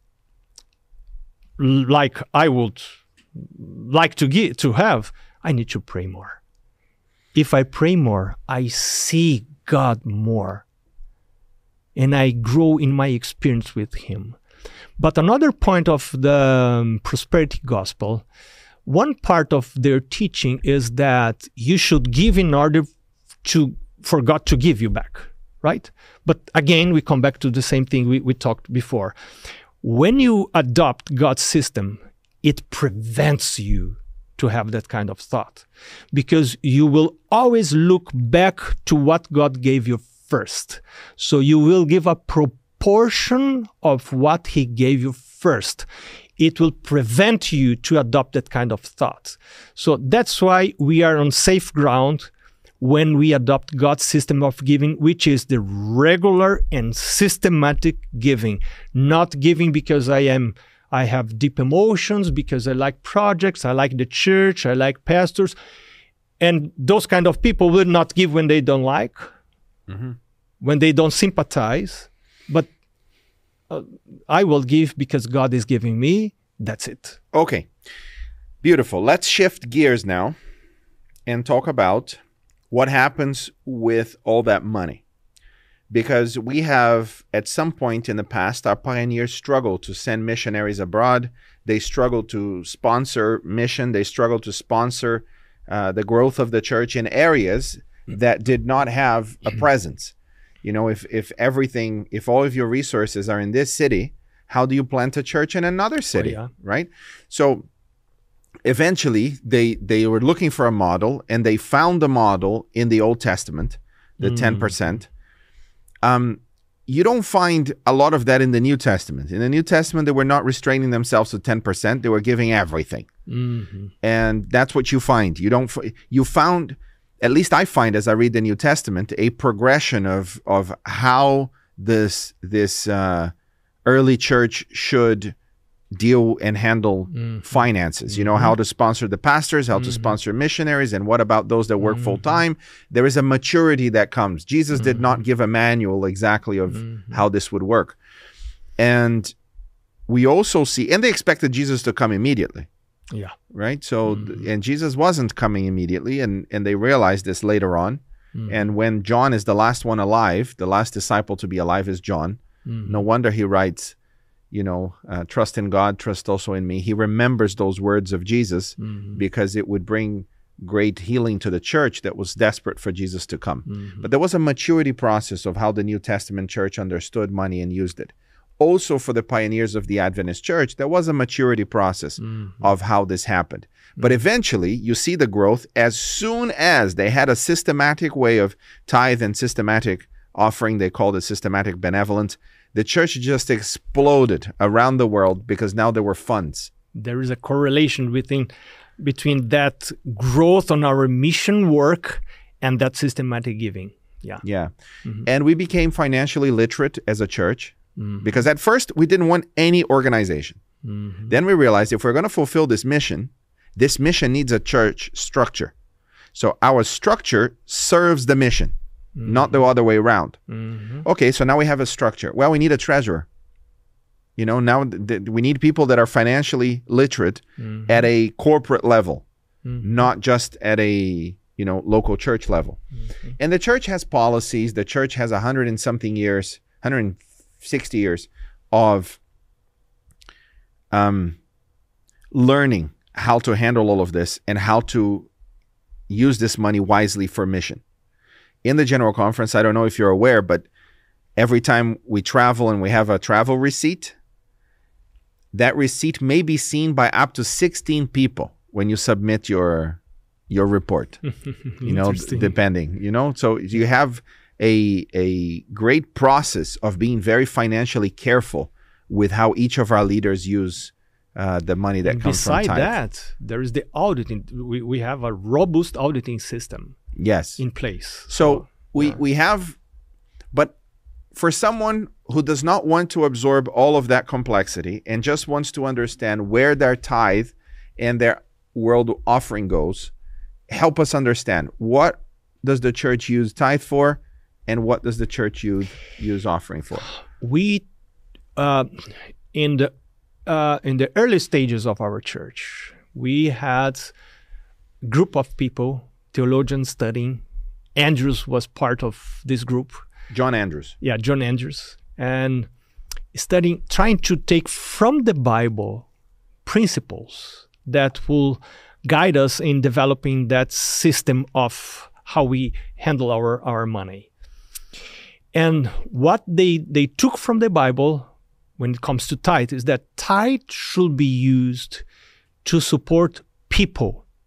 like I would like to have, I need to pray more. If I pray more, I see God more. And I grow in my experience with Him. But another point of the prosperity gospel, one part of their teaching is that you should give in order for God to give you back, right? But again, we come back to the same thing we talked before. When you adopt God's system, it prevents you to have that kind of thought, because you will always look back to what God gave you first. So you will give a proportion of what he gave you first. It will prevent you to adopt that kind of thought. So that's why we are on safe ground when we adopt God's system of giving, which is the regular and systematic giving, not giving because I have deep emotions, because I like projects, I like the church, I like pastors. And those kind of people will not give when they don't like, when they don't sympathize. But I will give because God is giving me. That's it. Okay. Beautiful. Let's shift gears now and talk about what happens with all that money. Because we have, at some point in the past, our pioneers struggled to send missionaries abroad. They struggled to sponsor mission. They struggled to sponsor the growth of the church in areas that did not have a presence. You know, if all of your resources are in this city, how do you plant a church in another city, right? So eventually they were looking for a model, and they found a model in the Old Testament, the 10%. You don't find a lot of that in the New Testament. In the New Testament, they were not restraining themselves to 10%. They were giving everything. And that's what you find. You found, at least I find as I read the New Testament, a progression of how this early church should deal and handle finances. You know, how to sponsor the pastors, how to sponsor missionaries, and what about those that work full time? There is a maturity that comes. Jesus did not give a manual exactly of how this would work. And we also see, and they expected Jesus to come immediately. Yeah. Right? So, and Jesus wasn't coming immediately, and they realized this later on. And when John is the last one alive, the last disciple to be alive is John. No wonder he writes, you know, trust in God, trust also in me. He remembers those words of Jesus because it would bring great healing to the church that was desperate for Jesus to come. But there was a maturity process of how the New Testament church understood money and used it. Also, for the pioneers of the Adventist church, there was a maturity process of how this happened. But eventually, you see the growth as soon as they had a systematic way of tithe and systematic offering. They called it systematic benevolence. The church just exploded around the world because now there were funds. There is a correlation between that growth on our mission work and that systematic giving. Yeah. And we became financially literate as a church because at first we didn't want any organization. Then we realized if we're going to fulfill this mission needs a church structure. So our structure serves the mission. Not the other way around. Okay, so now we have a structure. Well, we need a treasurer. You know, now we need people that are financially literate at a corporate level, not just at a, you know, local church level. And the church has policies. The church has 160 years of learning how to handle all of this and how to use this money wisely for mission. In the General Conference, I don't know if you're aware, but every time we travel and we have a travel receipt, that receipt may be seen by up to 16 people when you submit your report. You know, depending, you know. So you have a great process of being very financially careful with how each of our leaders use the money that comes from tithe. Beside that, there is the auditing. We have a robust auditing system. Yes. In place. So we have, but for someone who does not want to absorb all of that complexity and just wants to understand where their tithe and their world offering goes, help us understand, what does the church use tithe for and what does the church use offering for? We, in the early stages of our church, we had a group of people, theologians studying. Andrews was part of this group. John Andrews. Yeah, John Andrews. And studying, trying to take from the Bible principles that will guide us in developing that system of how we handle our money. And what they took from the Bible when it comes to tithe is that tithe should be used to support people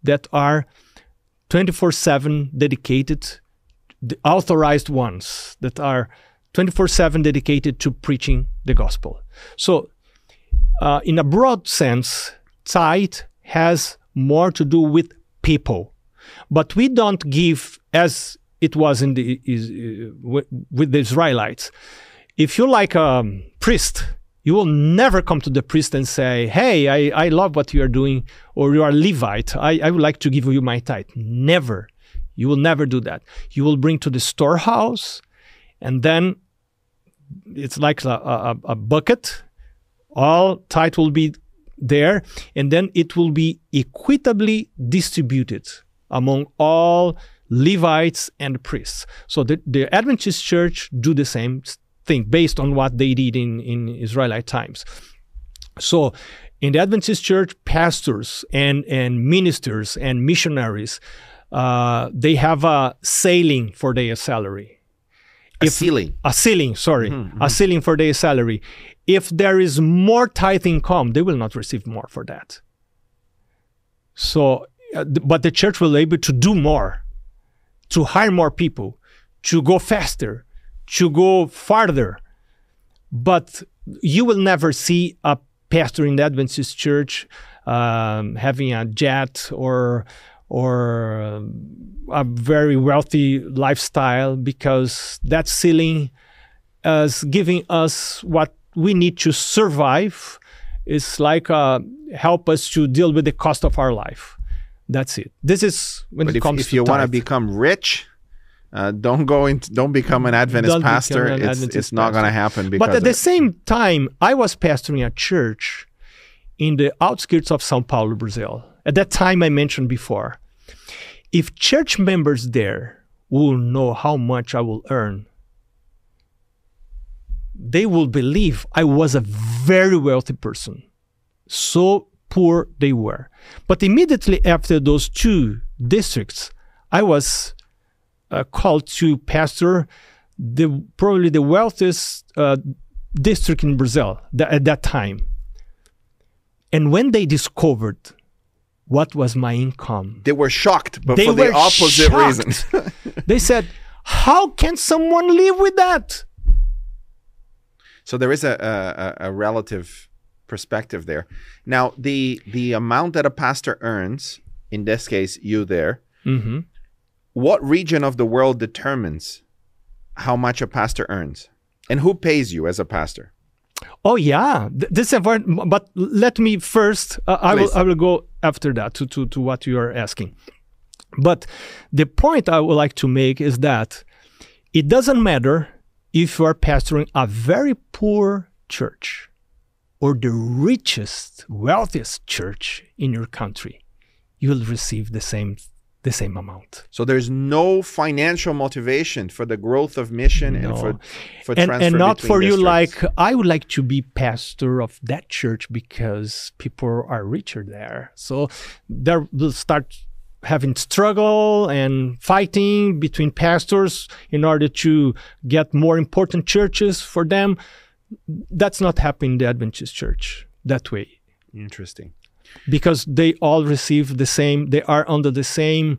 that are 24/7 dedicated, the authorized ones that are 24/7 dedicated to preaching the gospel. So in a broad sense, tithe has more to do with people, but we don't give as it was in with the Israelites. If you're like a priest, you will never come to the priest and say, hey, I love what you are doing, or you are Levite, I would like to give you my tithe. Never. You will never do that. You will bring to the storehouse, and then it's like a bucket. All tithe will be there, and then it will be equitably distributed among all Levites and priests. So the Adventist church do the same thing based on what they did in Israelite times. So in the Adventist church, pastors and ministers and missionaries, they have a ceiling for their salary. A ceiling, sorry. A ceiling for their salary. If there is more tithe income, they will not receive more for that. So, but the church will be able to do more, to hire more people, to go faster, to go farther. But you will never see a pastor in the Adventist church having a jet or a very wealthy lifestyle, because that ceiling is giving us what we need to survive. It's like help us to deal with the cost of our life. That's it. This is when it comes to if you want to become rich, don't become an Adventist pastor. It's not going to happen. But at the same time, I was pastoring a church in the outskirts of São Paulo, Brazil. At that time I mentioned before, if church members there will know how much I will earn, they will believe I was a very wealthy person. So poor they were. But immediately after those two districts, I was called to pastor probably the wealthiest district in Brazil at that time. And when they discovered what was my income, they were shocked, but for the opposite reasons. They said, how can someone live with that? So there is a relative perspective there. Now, the amount that a pastor earns, in this case, you there, what region of the world determines how much a pastor earns? And who pays you as a pastor? Oh, yeah. This is important, but let me first, I will go after that to what you are asking. But the point I would like to make is that it doesn't matter if you are pastoring a very poor church or the richest, wealthiest church in your country, you will receive the same amount. So there's no financial motivation for the growth of mission and for transfer and not for you districts. like, I would like to be pastor of that church because people are richer there. So there will start having struggle and fighting between pastors in order to get more important churches for them. That's not happening in the Adventist church that way. Interesting. Because they all receive the same, they are under the same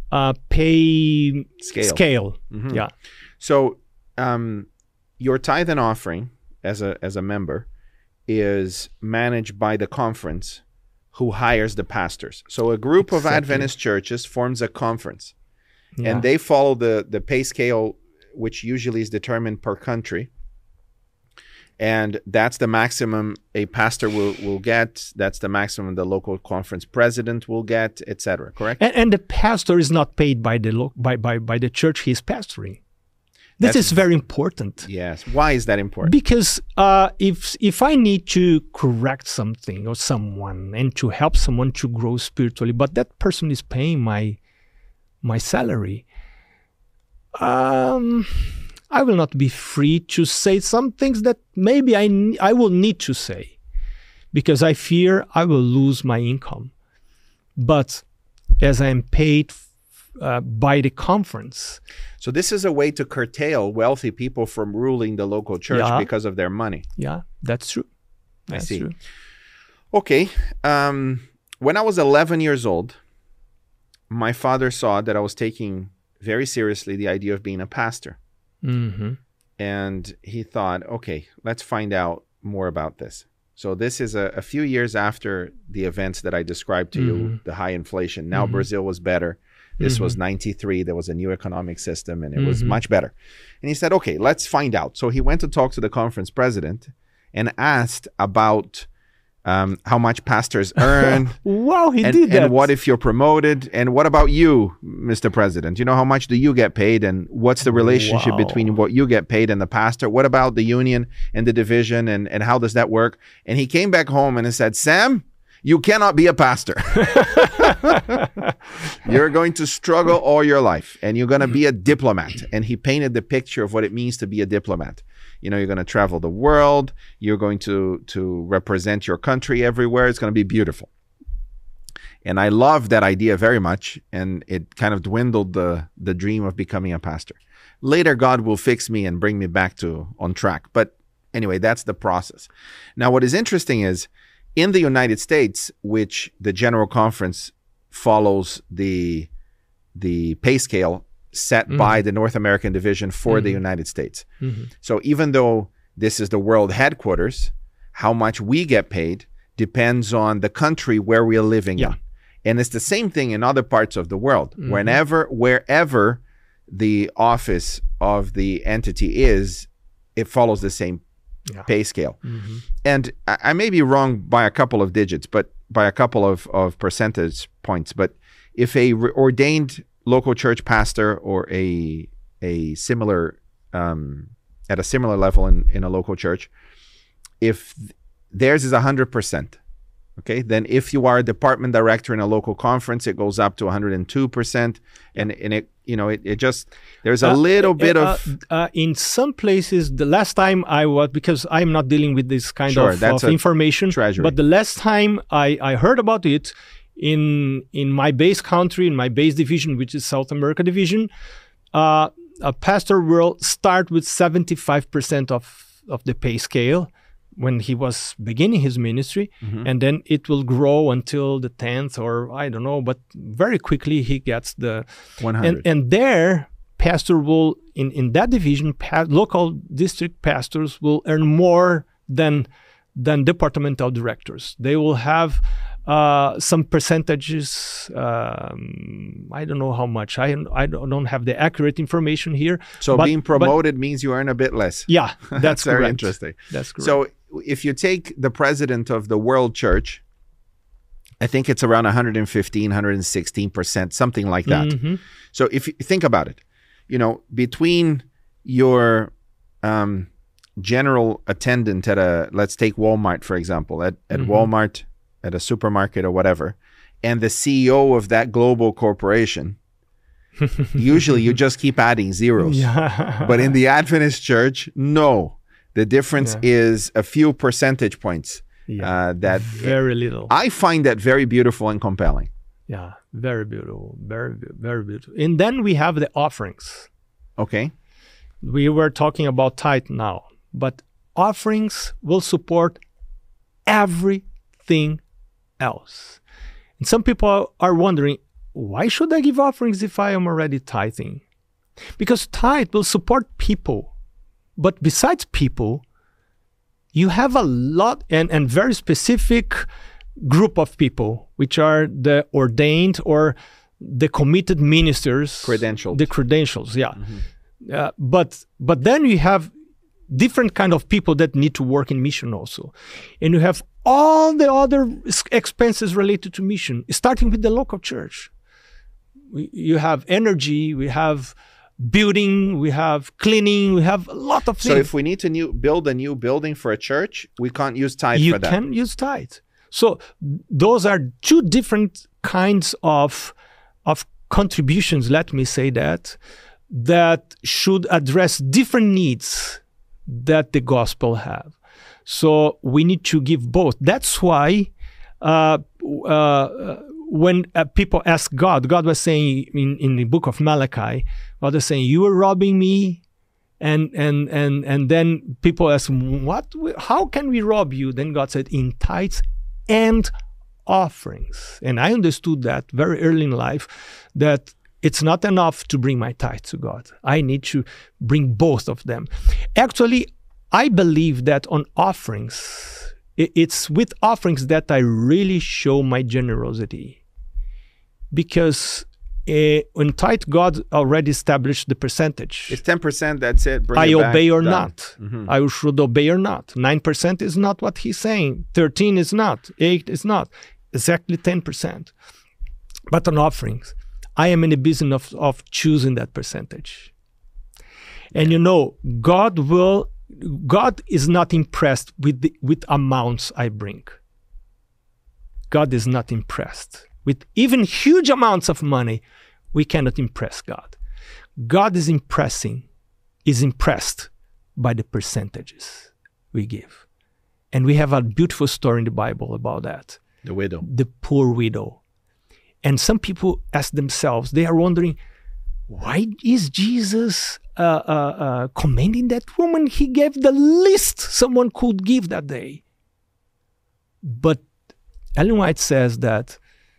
pay scale. Yeah. So your tithe and offering as a member is managed by the conference who hires the pastors. So a group of Adventist churches forms a conference, and they follow the pay scale, which usually is determined per country. And that's the maximum a pastor will get. That's the maximum the local conference president will get, etc. Correct? And the pastor is not paid by the church he's pastoring. This is very important. Yes. Why is that important? Because if I need to correct something or someone and to help someone to grow spiritually, but that person is paying my salary, I will not be free to say some things that maybe I will need to say because I fear I will lose my income. But as I am paid by the conference. So this is a way to curtail wealthy people from ruling the local church because of their money. Yeah, that's true. I see. True. Okay. When I was 11 years old, my father saw that I was taking very seriously the idea of being a pastor. Mm-hmm. And he thought, okay, let's find out more about this. So this is a few years after the events that I described to you, the high inflation. Now Brazil was better. This was 93. There was a new economic system and it was much better. And he said, okay, let's find out. So he went to talk to the conference president and asked about how much pastors earn. Wow, he did that. And what if you're promoted? And what about you, Mr. President? You know, how much do you get paid? And what's the relationship between what you get paid and the pastor? What about the union and the division? And how does that work? And he came back home and he said, Sam, you cannot be a pastor. You're going to struggle all your life and you're going to be a diplomat. And he painted the picture of what it means to be a diplomat. You know, you're going to travel the world. You're going to represent your country everywhere. It's going to be beautiful. And I love that idea very much. And it kind of dwindled the dream of becoming a pastor. Later, God will fix me and bring me back on track. But anyway, that's the process. Now, what is interesting is in the United States, which the General Conference follows the pay scale set by the North American division for the United States. So even though this is the world headquarters, how much we get paid depends on the country where we are living in. And it's the same thing in other parts of the world. Wherever the office of the entity is, it follows the same pay scale. And I may be wrong by a couple of digits, but by a couple of percentage points. But if a ordained local church pastor or a similar at a similar level in a local church, if theirs is 100%, okay, then if you are a department director in a local conference, it goes up to 102%, and it just, there's a little bit of in some places. The last time I was, because I'm not dealing with this kind of information, treasury. But the last time I heard about it, in my base country, in my base division, which is South America division, a pastor will start with 75% of the pay scale when he was beginning his ministry, and then it will grow until the 10th, or I don't know, but very quickly he gets the 100. And there, pastor will, in that division, local district pastors will earn more than departmental directors. They will have some percentages. I don't know how much. I don't have the accurate information here. So being promoted means you earn a bit less. Yeah, that's very correct. Interesting. That's correct. So if you take the president of the World Church, I think it's around 115, 116%, something like that. So if you think about it, between your general attendant at let's take Walmart, for example, at Walmart, at a supermarket or whatever, and the CEO of that global corporation, usually you just keep adding zeros. But in the Adventist church, no. The difference is a few percentage points. That very little. I find that very beautiful and compelling. Yeah, very beautiful. Very, very beautiful. And then we have the offerings. Okay. We were talking about tithe now, but offerings will support everything else. And some people are wondering, why should I give offerings if I am already tithing? Because tithe will support people. But besides people, you have a lot and very specific group of people, which are the ordained or the committed ministers. Credentialed. The credentials, yeah. But then you have different kind of people that need to work in mission also. And you have all the other expenses related to mission, starting with the local church. You have energy, we have building, we have cleaning, we have a lot of things. So if we need to build a new building for a church, we can't use tithe for that. You can use tithe. So those are two different kinds of contributions, let me say that should address different needs that the gospel have. So we need to give both. That's why when people ask God was saying in the book of Malachi, God is saying, you are robbing me. And then people ask, what? How can we rob you? Then God said, in tithes and offerings. And I understood that very early in life, that it's not enough to bring my tithe to God. I need to bring both of them. Actually, I believe that on offerings, it's with offerings that I really show my generosity. Because in tithe, God already established the percentage. It's 10%, that's it. Bring I it back, obey or done. not. I should obey or not. 9% is not what he's saying. 13 is not. 8 is not. Exactly 10%. But on offerings, I am in the business of choosing that percentage. And God is not impressed with amounts I bring. God is not impressed. With even huge amounts of money, we cannot impress God. God is impressed by the percentages we give. And we have a beautiful story in the Bible about that. The widow. The poor widow. And some people ask themselves, they are wondering, why is Jesus commending that woman? He gave the least someone could give that day. But Ellen White says that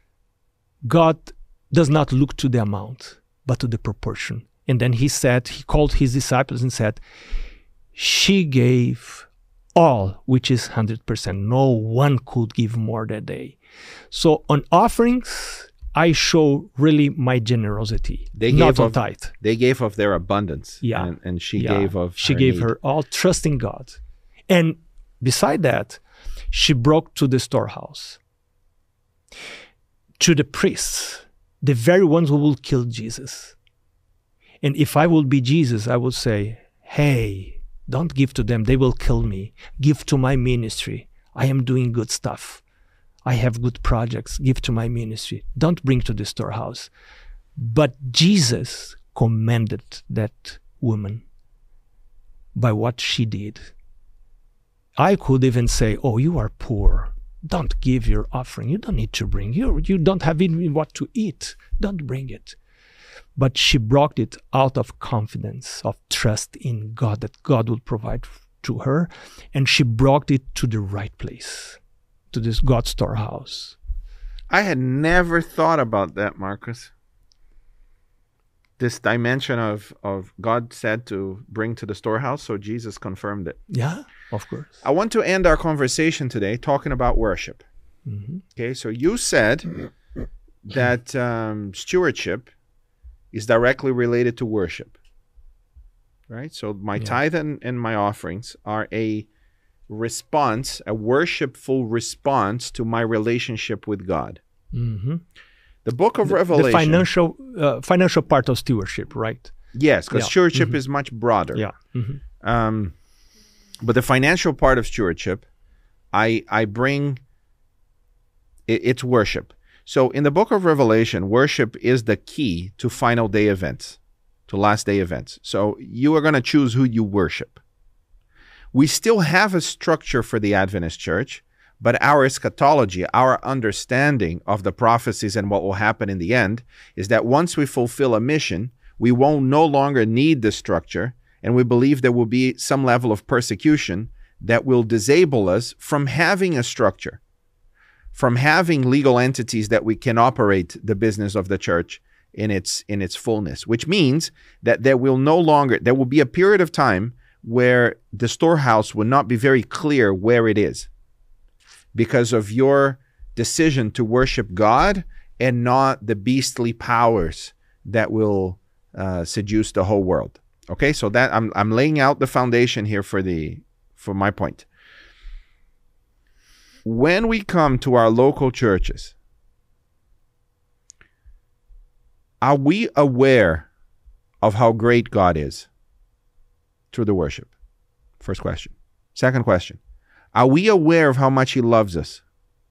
God does not look to the amount, but to the proportion. And then he called his disciples and said, she gave all, which is 100%. No one could give more that day. So on offerings, I show really my generosity, not on tithe. They gave of their abundance. Yeah. And she gave of She her gave need. her all, trusting God. And beside that, she brought to the storehouse, to the priests, the very ones who will kill Jesus. And if I will be Jesus, I will say, hey, don't give to them. They will kill me. Give to my ministry. I am doing good stuff. I have good projects. Give to my ministry. Don't bring to the storehouse. But Jesus commended that woman by what she did. I could even say, oh, you are poor. Don't give your offering. You don't need to bring. You don't have even what to eat. Don't bring it. But she brought it out of confidence, of trust in God, that God will provide to her. And she brought it to the right place, to this God's storehouse. I had never thought about that, Marcus. This dimension of God said to bring to the storehouse, so Jesus confirmed it. Yeah, of course. I want to end our conversation today talking about worship. Mm-hmm. Okay, so you said that stewardship is directly related to worship, right? So my tithe and my offerings are a response, a worshipful response to my relationship with God. Mm-hmm. The book of Revelation. The financial part of stewardship, right? Yes, because stewardship is much broader. Yeah. Mm-hmm. But the financial part of stewardship, I bring, it's worship. So in the book of Revelation, worship is the key to final day events, to last day events. So you are going to choose who you worship. We still have a structure for the Adventist church, but our eschatology, our understanding of the prophecies and what will happen in the end is that once we fulfill a mission, we won't no longer need the structure, and we believe there will be some level of persecution that will disable us from having a structure, from having legal entities that we can operate the business of the church in its fullness, which means that there will be a period of time where the storehouse will not be very clear where it is because of your decision to worship God and not the beastly powers that will seduce the whole world. Okay, so that I'm laying out the foundation here for my point. When we come to our local churches, are we aware of how great God is through the worship? First question. Second question. Are we aware of how much He loves us?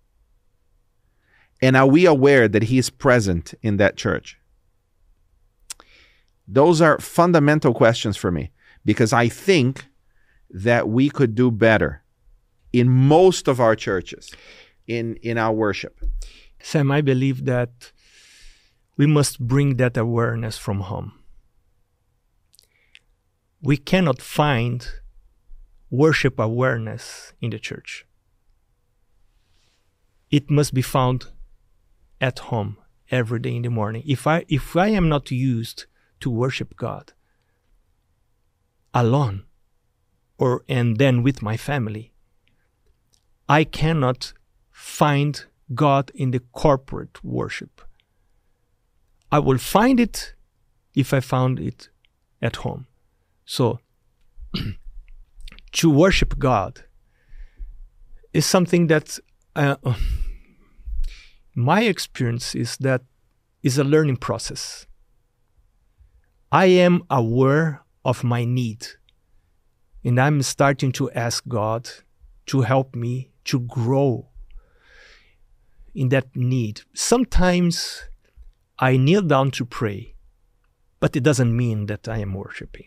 And are we aware that He is present in that church? Those are fundamental questions for me because I think that we could do better in most of our churches, in our worship. Sam, I believe that we must bring that awareness from home. We cannot find worship awareness in the church. it must be found at home every day in the morning. If I am not used to worship God alone and then with my family, I cannot find God in the corporate worship. I will find it if I found it at home. So to worship God is something that my experience is that is a learning process. I am aware of my need, and I'm starting to ask God to help me to grow in that need. Sometimes I kneel down to pray, but it doesn't mean that I am worshiping.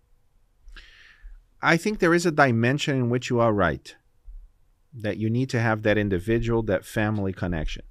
I think there is a dimension in which you are right, that you need to have that individual, that family connection.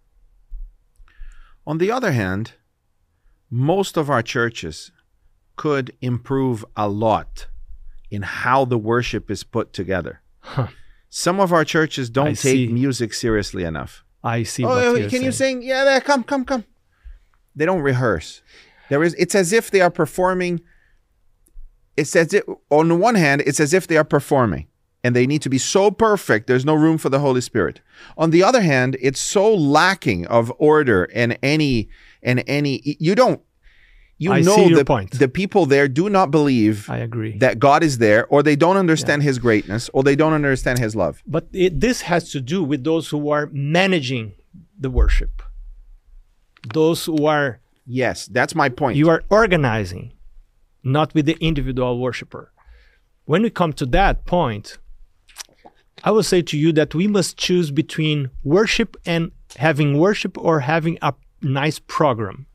On the other hand, most of our churches could improve a lot in how the worship is put together. Huh. Some of our churches don't I take see. music seriously enough. I see. Oh, what you're can you saying. sing? Yeah, there, come. They don't rehearse. It's as if they are performing. It's as if, on the one hand, it's as if they are performing and they need to be so perfect, there's no room for the Holy Spirit. On the other hand, it's so lacking of order and any, you know see your point. The people there do not believe I agree. that God is there, or they don't understand his greatness, or they don't understand his love. But this has to do with those who are managing the worship. Those who are... Yes, that's my point. You are organizing, not with the individual worshiper. When we come to that point, I will say to you that we must choose between worship and having worship or having a nice program.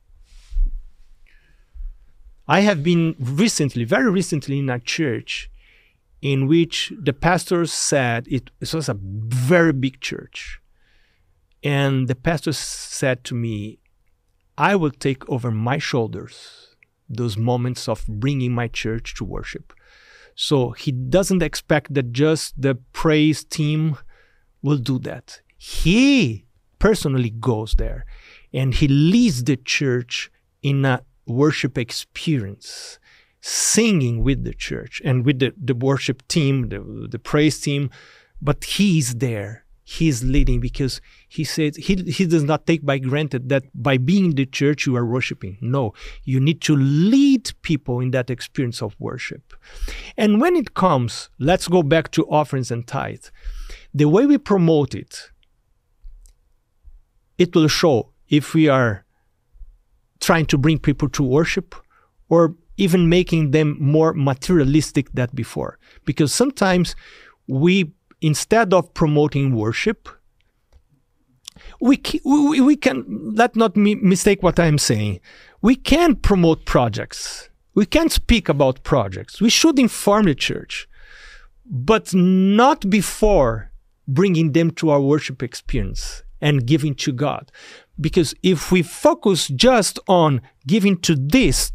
I have been very recently in a church in which the pastor said, it was a very big church. And the pastor said to me, I will take over my shoulders those moments of bringing my church to worship. So he doesn't expect that just the praise team will do that. He personally goes there and he leads the church in a worship experience, singing with the church and with the worship team, the praise team, but he's there. He's leading because he said he does not take by granted that by being in the church you are worshiping. No, you need to lead people in that experience of worship. And when it comes, let's go back to offerings and tithe. The way we promote it, it will show if we are trying to bring people to worship or even making them more materialistic than before. Because sometimes instead of promoting worship, we can, let not mistake what I'm saying. We can promote projects. We can speak about projects. We should inform the church, but not before bringing them to our worship experience and giving to God. Because if we focus just on giving to this,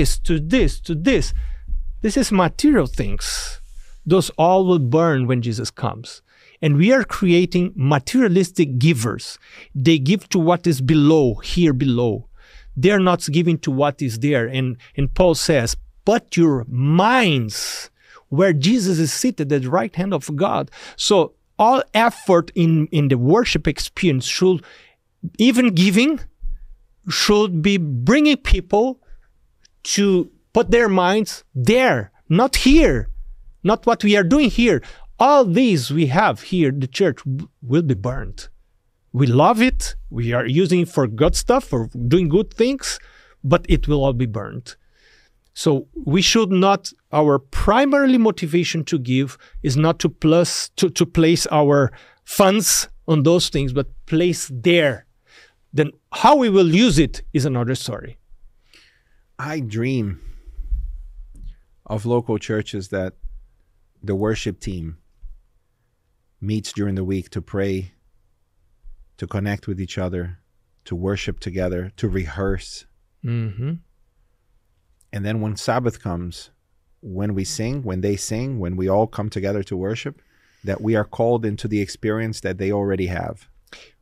this is material things. Those all will burn when Jesus comes. And we are creating materialistic givers. They give to what is below, here below. They're not giving to what is there. And Paul says, put your minds where Jesus is seated at the right hand of God. So all effort in the worship experience should, even giving, should be bringing people to put their minds there, not here. Not what we are doing here. All these we have here, the church, will be burned. We love it. We are using it for good stuff, for doing good things, but it will all be burned. So we should not, our primary motivation to give is not to place our funds on those things, but place there. Then how we will use it is another story. I dream of local churches that the worship team meets during the week to pray, to connect with each other, to worship together, to rehearse. Mm-hmm. And then when Sabbath comes, when we sing, when they sing, when we all come together to worship, that we are called into the experience that they already have.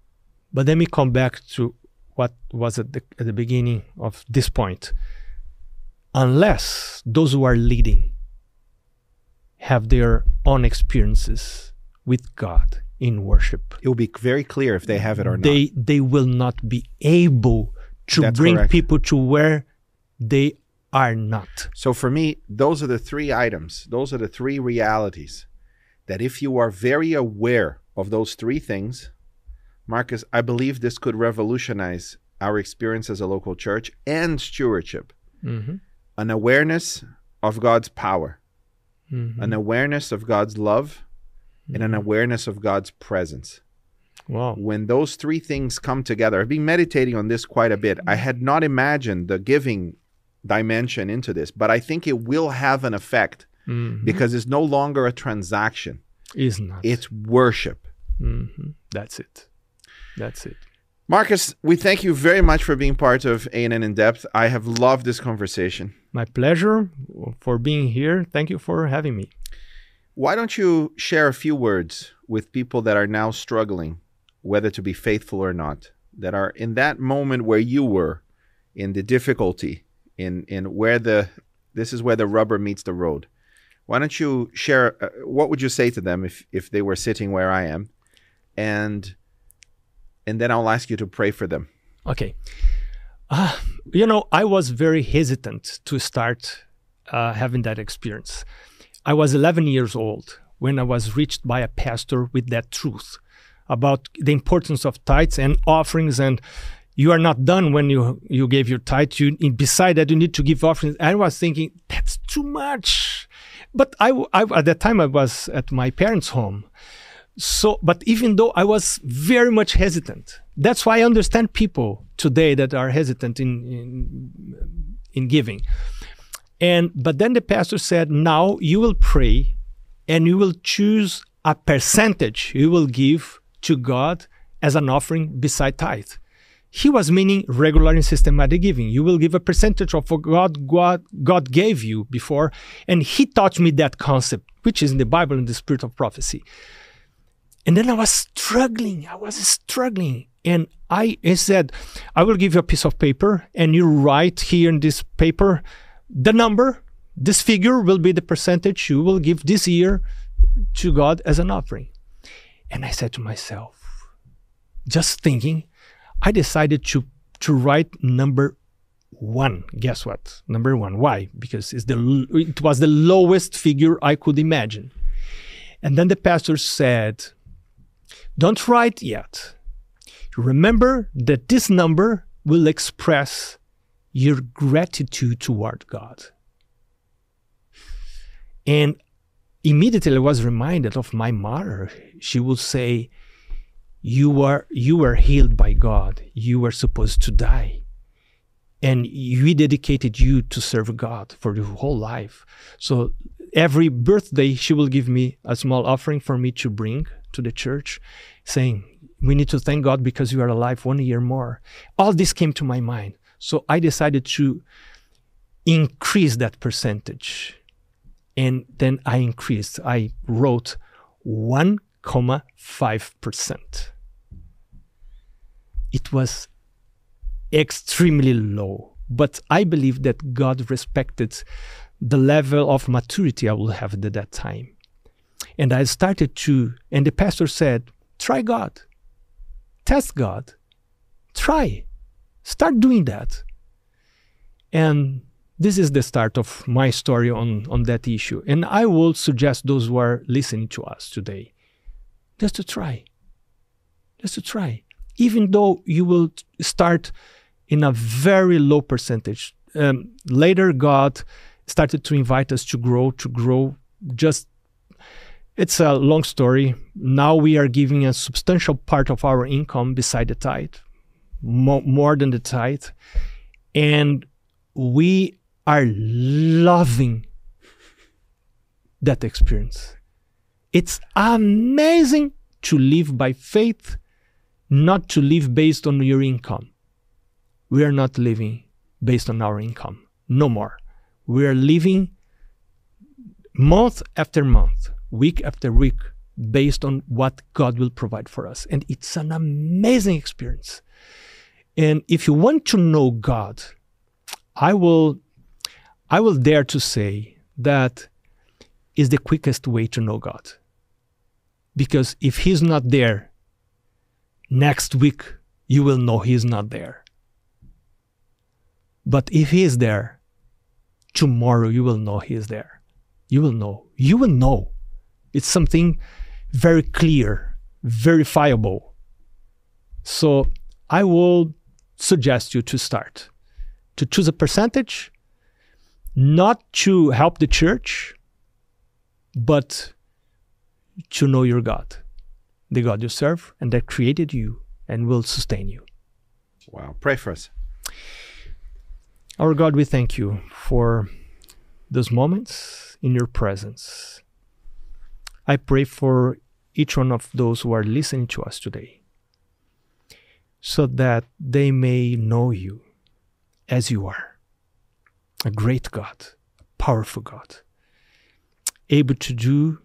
But let me come back to what was at the beginning of this point. Unless those who are leading have their own experiences with God in worship, It will be very clear if they have it or not. they will not be able to That's bring correct. people to where they are not. So for me, those are the three items. Those are the three realities that if you are very aware of those three things, Marcus, I believe this could revolutionize our experience as a local church and stewardship. An awareness of God's power, an awareness of God's love, and an awareness of God's presence. Wow. When those three things come together, I've been meditating on this quite a bit. I had not imagined the giving dimension into this, but I think it will have an effect because it's no longer a transaction. Is not. It's worship. That's it. That's it. Marcus, we thank you very much for being part of A&N In Depth. I have loved this conversation. My pleasure for being here. Thank you for having me. Why don't you share a few words with people that are now struggling, whether to be faithful or not, that are in that moment where you were, in the difficulty, in where this is where the rubber meets the road. Why don't you share, what would you say to them if they were sitting where I am? And then I'll ask you to pray for them. Okay. I was very hesitant to start having that experience. I was 11 years old when I was reached by a pastor with that truth about the importance of tithes and offerings, and you are not done when you gave your tithe. Beside that, you need to give offerings. I was thinking, that's too much. But I at that time, I was at my parents' home. But even though I was very much hesitant, that's why I understand people today that are hesitant in giving. But then the pastor said, now you will pray and you will choose a percentage you will give to God as an offering beside tithe. He was meaning regular and systematic giving. You will give a percentage of what God gave you before. And he taught me that concept, which is in the Bible, in the spirit of prophecy. And then I was struggling. And he said, I will give you a piece of paper and you write here in this paper the number, this figure will be the percentage you will give this year to God as an offering. And I said to myself, just thinking, I decided to write number 1. Guess what? Number 1. Why? Because it was the lowest figure I could imagine. And then the pastor said, don't write yet. Remember that this number will express your gratitude toward God. And immediately I was reminded of my mother. She would say, you were healed by God. You were supposed to die. And we dedicated you to serve God for your whole life. So every birthday, she will give me a small offering for me to bring to the church, saying, we need to thank God because you are alive 1 year more. All this came to my mind. So I decided to increase that percentage. And then I wrote 1.5%. It was extremely low, but I believe that God respected the level of maturity I will have at that time. And I started and the pastor said, try God, test God, try, start doing that. And this is the start of my story on that issue. And I will suggest those who are listening to us today, just to try. Even though you will start in a very low percentage. Later, God started to invite us to grow. It's a long story. Now we are giving a substantial part of our income beside the tithe, more than the tithe. And we are loving that experience. It's amazing to live by faith, not to live based on your income. We are not living based on our income, no more. We are living month after month, week after week, based on what God will provide for us. And it's an amazing experience. And if you want to know God, I will dare to say that is the quickest way to know God. Because if He's not there, next week you will know He's not there. But if He is there, tomorrow you will know He is there. You will know. You will know. It's something very clear, verifiable. So I will suggest you to start, to choose a percentage, not to help the church, but to know your God, the God you serve and that created you and will sustain you. Wow. Pray for us. Our God, we thank you for those moments in your presence. I pray for each one of those who are listening to us today, so that they may know you as you are, a great God, powerful God, able to do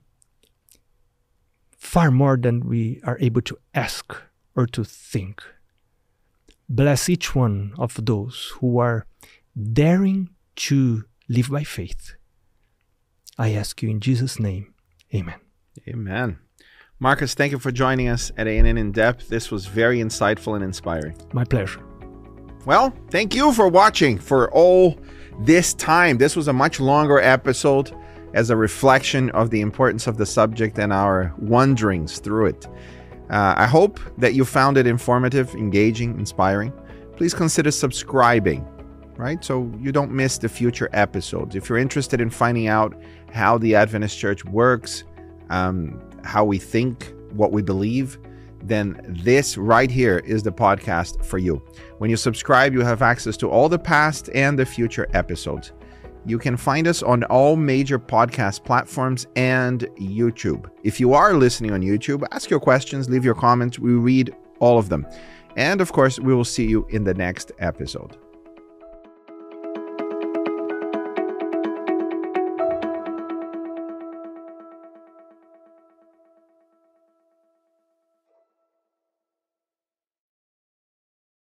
far more than we are able to ask or to think. Bless each one of those who are daring to live by faith. I ask you in Jesus' name, amen. Amen. Marcus, thank you for joining us at A&N In Depth. This was very insightful and inspiring. My pleasure. Well, thank you for watching for all this time. This was a much longer episode as a reflection of the importance of the subject and our wanderings through it. I hope that you found it informative, engaging, inspiring. Please consider subscribing, right? So you don't miss the future episodes. If you're interested in finding out how the Adventist Church works, how we think, what we believe, then this right here is the podcast for you. When you subscribe, you have access to all the past and the future episodes. You can find us on all major podcast platforms and YouTube. If you are listening on YouTube, ask your questions, leave your comments. We read all of them. And of course, we will see you in the next episode.